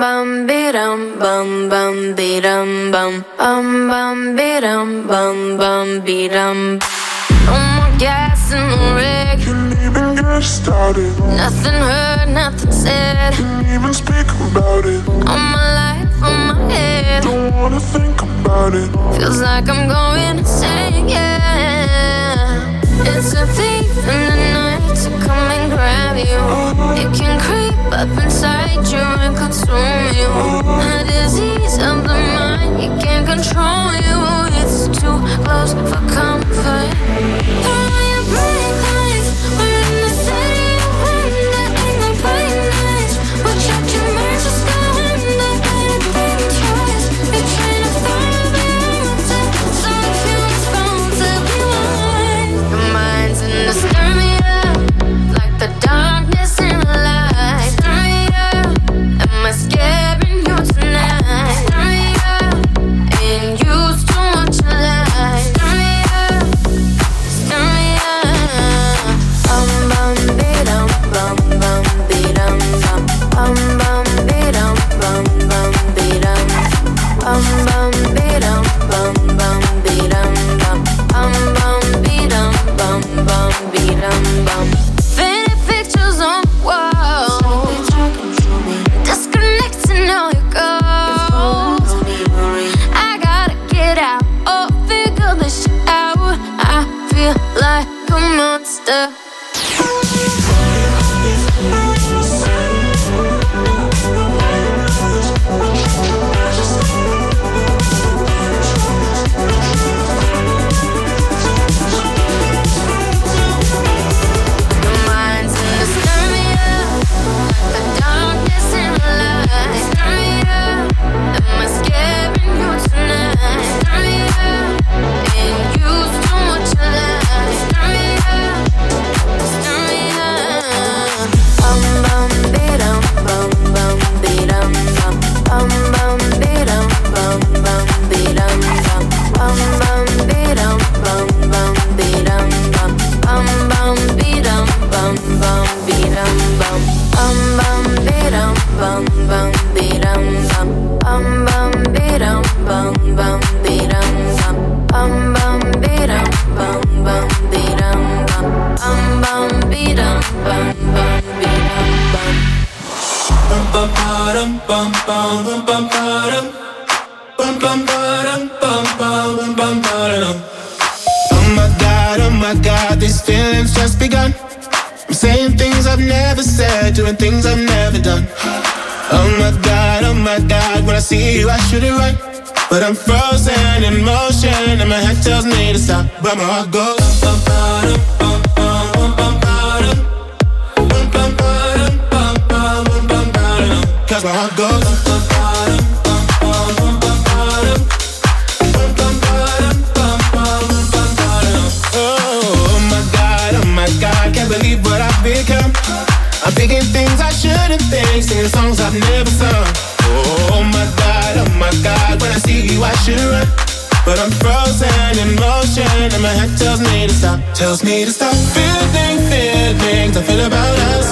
bum be-dum bum bum be-dum bum bum bum be-dum bum bum be-dum. No more gas in the rig. Can't even get started. Nothing heard, nothing said. Can't even speak about it. All my life on my head. Don't wanna think about it. Feels like I'm going insane, yeah. It's a thief in the night to come and grab you. It can creep up inside you and consume you. A disease of the mind, it can't control you. It's too close for comfort. Throw on your bright lights. We're in the city of wonder. Ain't no bright nights. We'll check your merch, just go under. Better think twice. You're trying to follow me onto. So if you respond to be mine. Your mind's in the stir me up. Like the darkness in the light. Stir me up. Am I scaring you tonight? Stir me up. Ain't used to what you like. Stir me up. Stir me up. Bum bum be-dum bum bum be-dum bum bum bum be-dum bum bum be-dum bum bum be-dum bum bum be-dum bum bum bum be-dum bum bum be-dum bum. Faded pictures on the wall. Disconnecting all your goals. I gotta get out. Oh, figure this shit out. I feel like a monster. Your mind's in the stir me up. The darkness in the light. Stir me up. Am I scaring you tonight? Stir me up. Ain't used to what you like. Stir me up. Stir me up. Bum bum be-dum bum bum be-dum bum bum bum be-dum bum bum be-dum bum bum bum be-dum bum bum be-dum bum bum bum be-dum bum bum be-dum bum bum bum be-dum bum bum be-dum bum bum bum be-dum bum bum be-dum bum bum bum be-dum bum bum be-dum bum bum bum be-dum bum bum be-dum bum. Bum bum bum bum bum bum bum bum bum bum bum bum bum. Oh my God, oh my God, these feelings just begun. I'm saying things I've never said, doing things I've never done. Oh my God, oh my God, when I see you I should it right, but I'm frozen in motion and my head tells me to stop, but my heart goes bum bum bum bum bum bum bum bum bum bum bum bum. Cause my heart goes bum bum bum bum bum bum bum bum bum bum bum. Oh my God, oh my God, can't believe what I've become. I'm thinking things I shouldn't think, singing songs I've never sung. Oh my God, oh my God, when I see you I should run, but I'm frozen in motion and my head tells me to stop, tells me to stop. Feeling feelings I feel about us.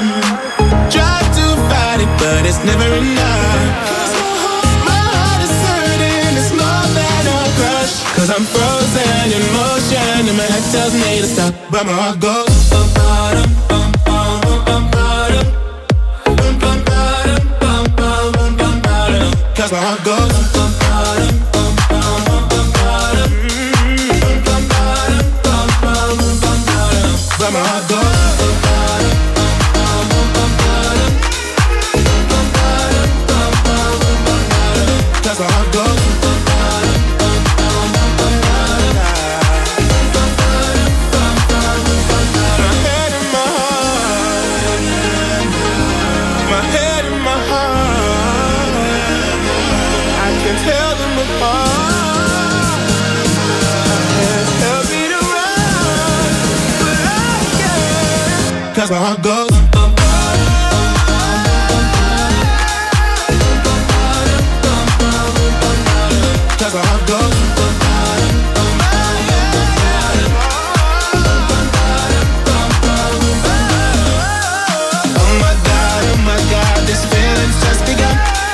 Try to fight it, but it's never enough. My heart is hurting, it's more than a crush. Cause I'm frozen in motion and my head tells me to stop, but my heart goes bum bum bum bum bum bum bum bum bum bum bum bum. Cause my heart goes bum bum bum bum bum bum bum bum bum bum bum. But my heart goes bum bum bum bum bum bum bum bum. Cause my heart goes. Tell them apart. I can't help me to run, but I can. Cause my heart goes bum bum bum bum. Cause my heart goes bum bum bum bum. Oh my God, oh my God, this feeling's just begun.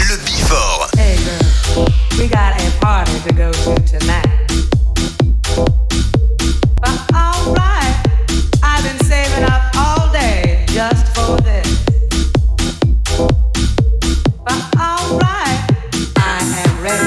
le Before. Hey girl, we got a party to go to tonight. But alright, I've been saving up all day just for this. But alright, I am ready.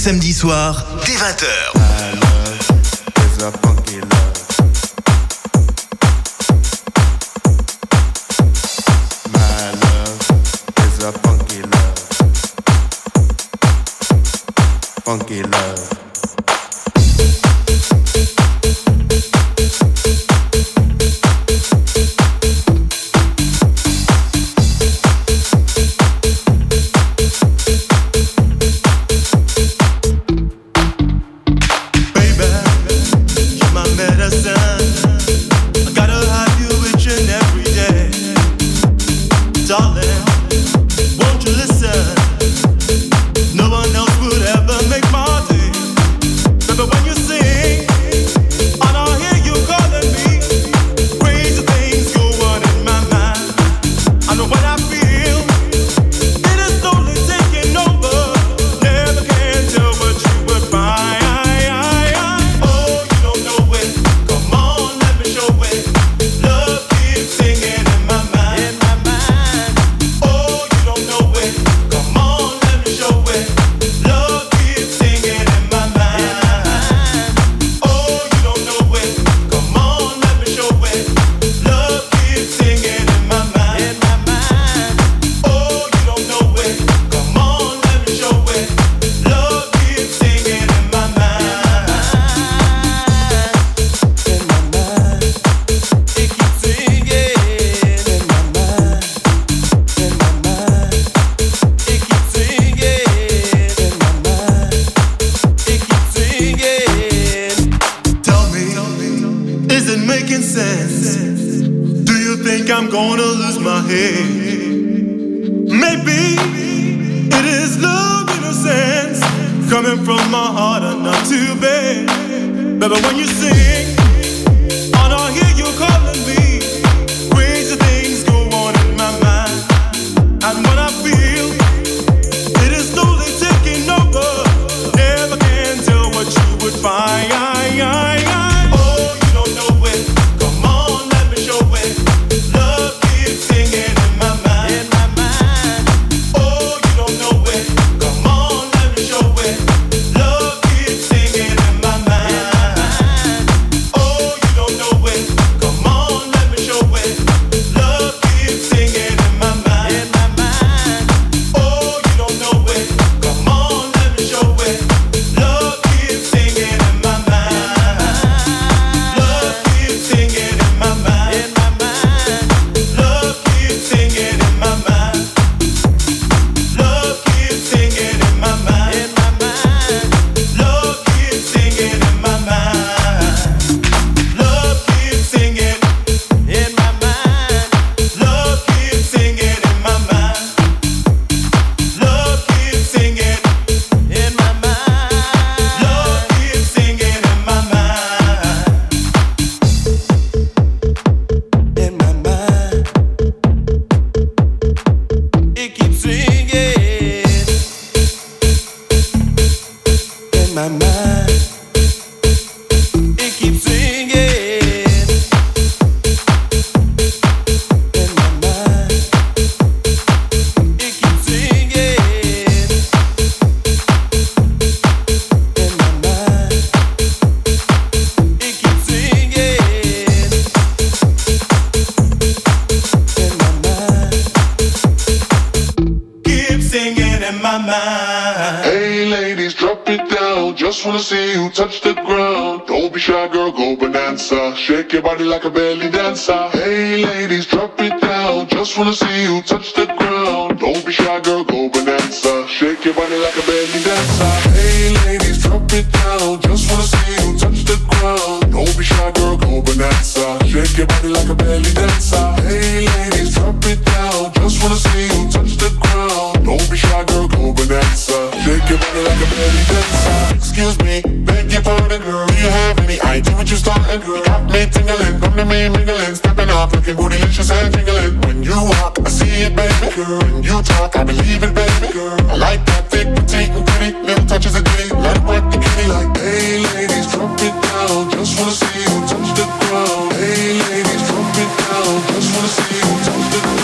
samedis soirs, dès vingt heures. Funky love.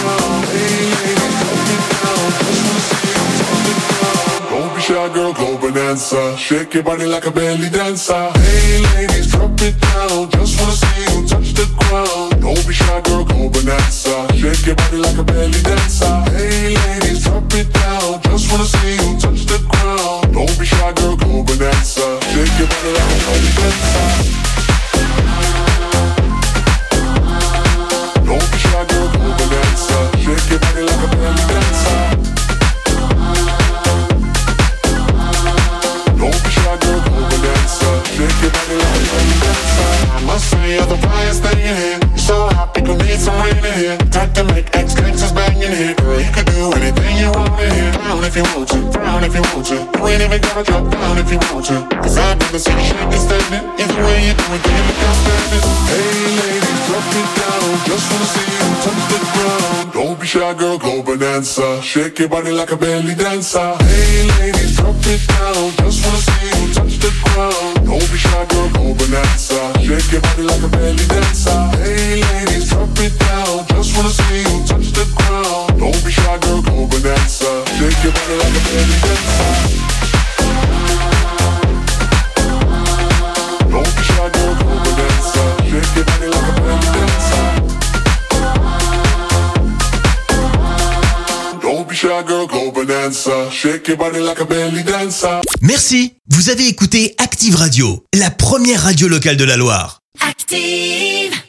Girl, go, but bonanza. Shake your body like a belly dancer. Hey ladies, drop it down. Just wanna see you touch the ground. Don't be shy, girl, go bonanza. Shake your body like a belly dancer. Hey ladies, drop it down. Just wanna see you touch the ground. Don't be shy, girl, go bonanza. Shake your body like a belly dancer. Don't be shy, girl, go bonanza. Shake your body like a belly dancer. Don't be shy, girl, go bonanza. Shake your body like a belly dancer. I must say you're the brightest thing in here. You're so hot, people need some rain in here. Time to make ex-gangsters bang in here. Girl, you can do anything you want in here. Down if you want to, down if you want to. You ain't even gotta drop down if you want to. Cause I've never seen you shaking standing. Either way you do it, damn, you can't stand it. Hey ladies, drop it down. Just wanna see you touch the ground. Don't be shy, girl, go bonanza. Shake your body like a belly dancer. Hey ladies, drop it down. Just wanna see you touch the ground. Don't be shy, girl, go bonanza. Shake your body like a belly dancer. Hey ladies, drop it down. Just wanna see you touch the ground. Don't be shy, girl, go bonanza. Shake your body like a belly dancer. Don't be shy, girl, go bonanza. Shake your body like a belly dancer. Don't be shy, girl, go bonanza. Shake your body like a belly dancer. Merci. Vous avez écouté Active Radio, la première radio locale de la Loire. Active.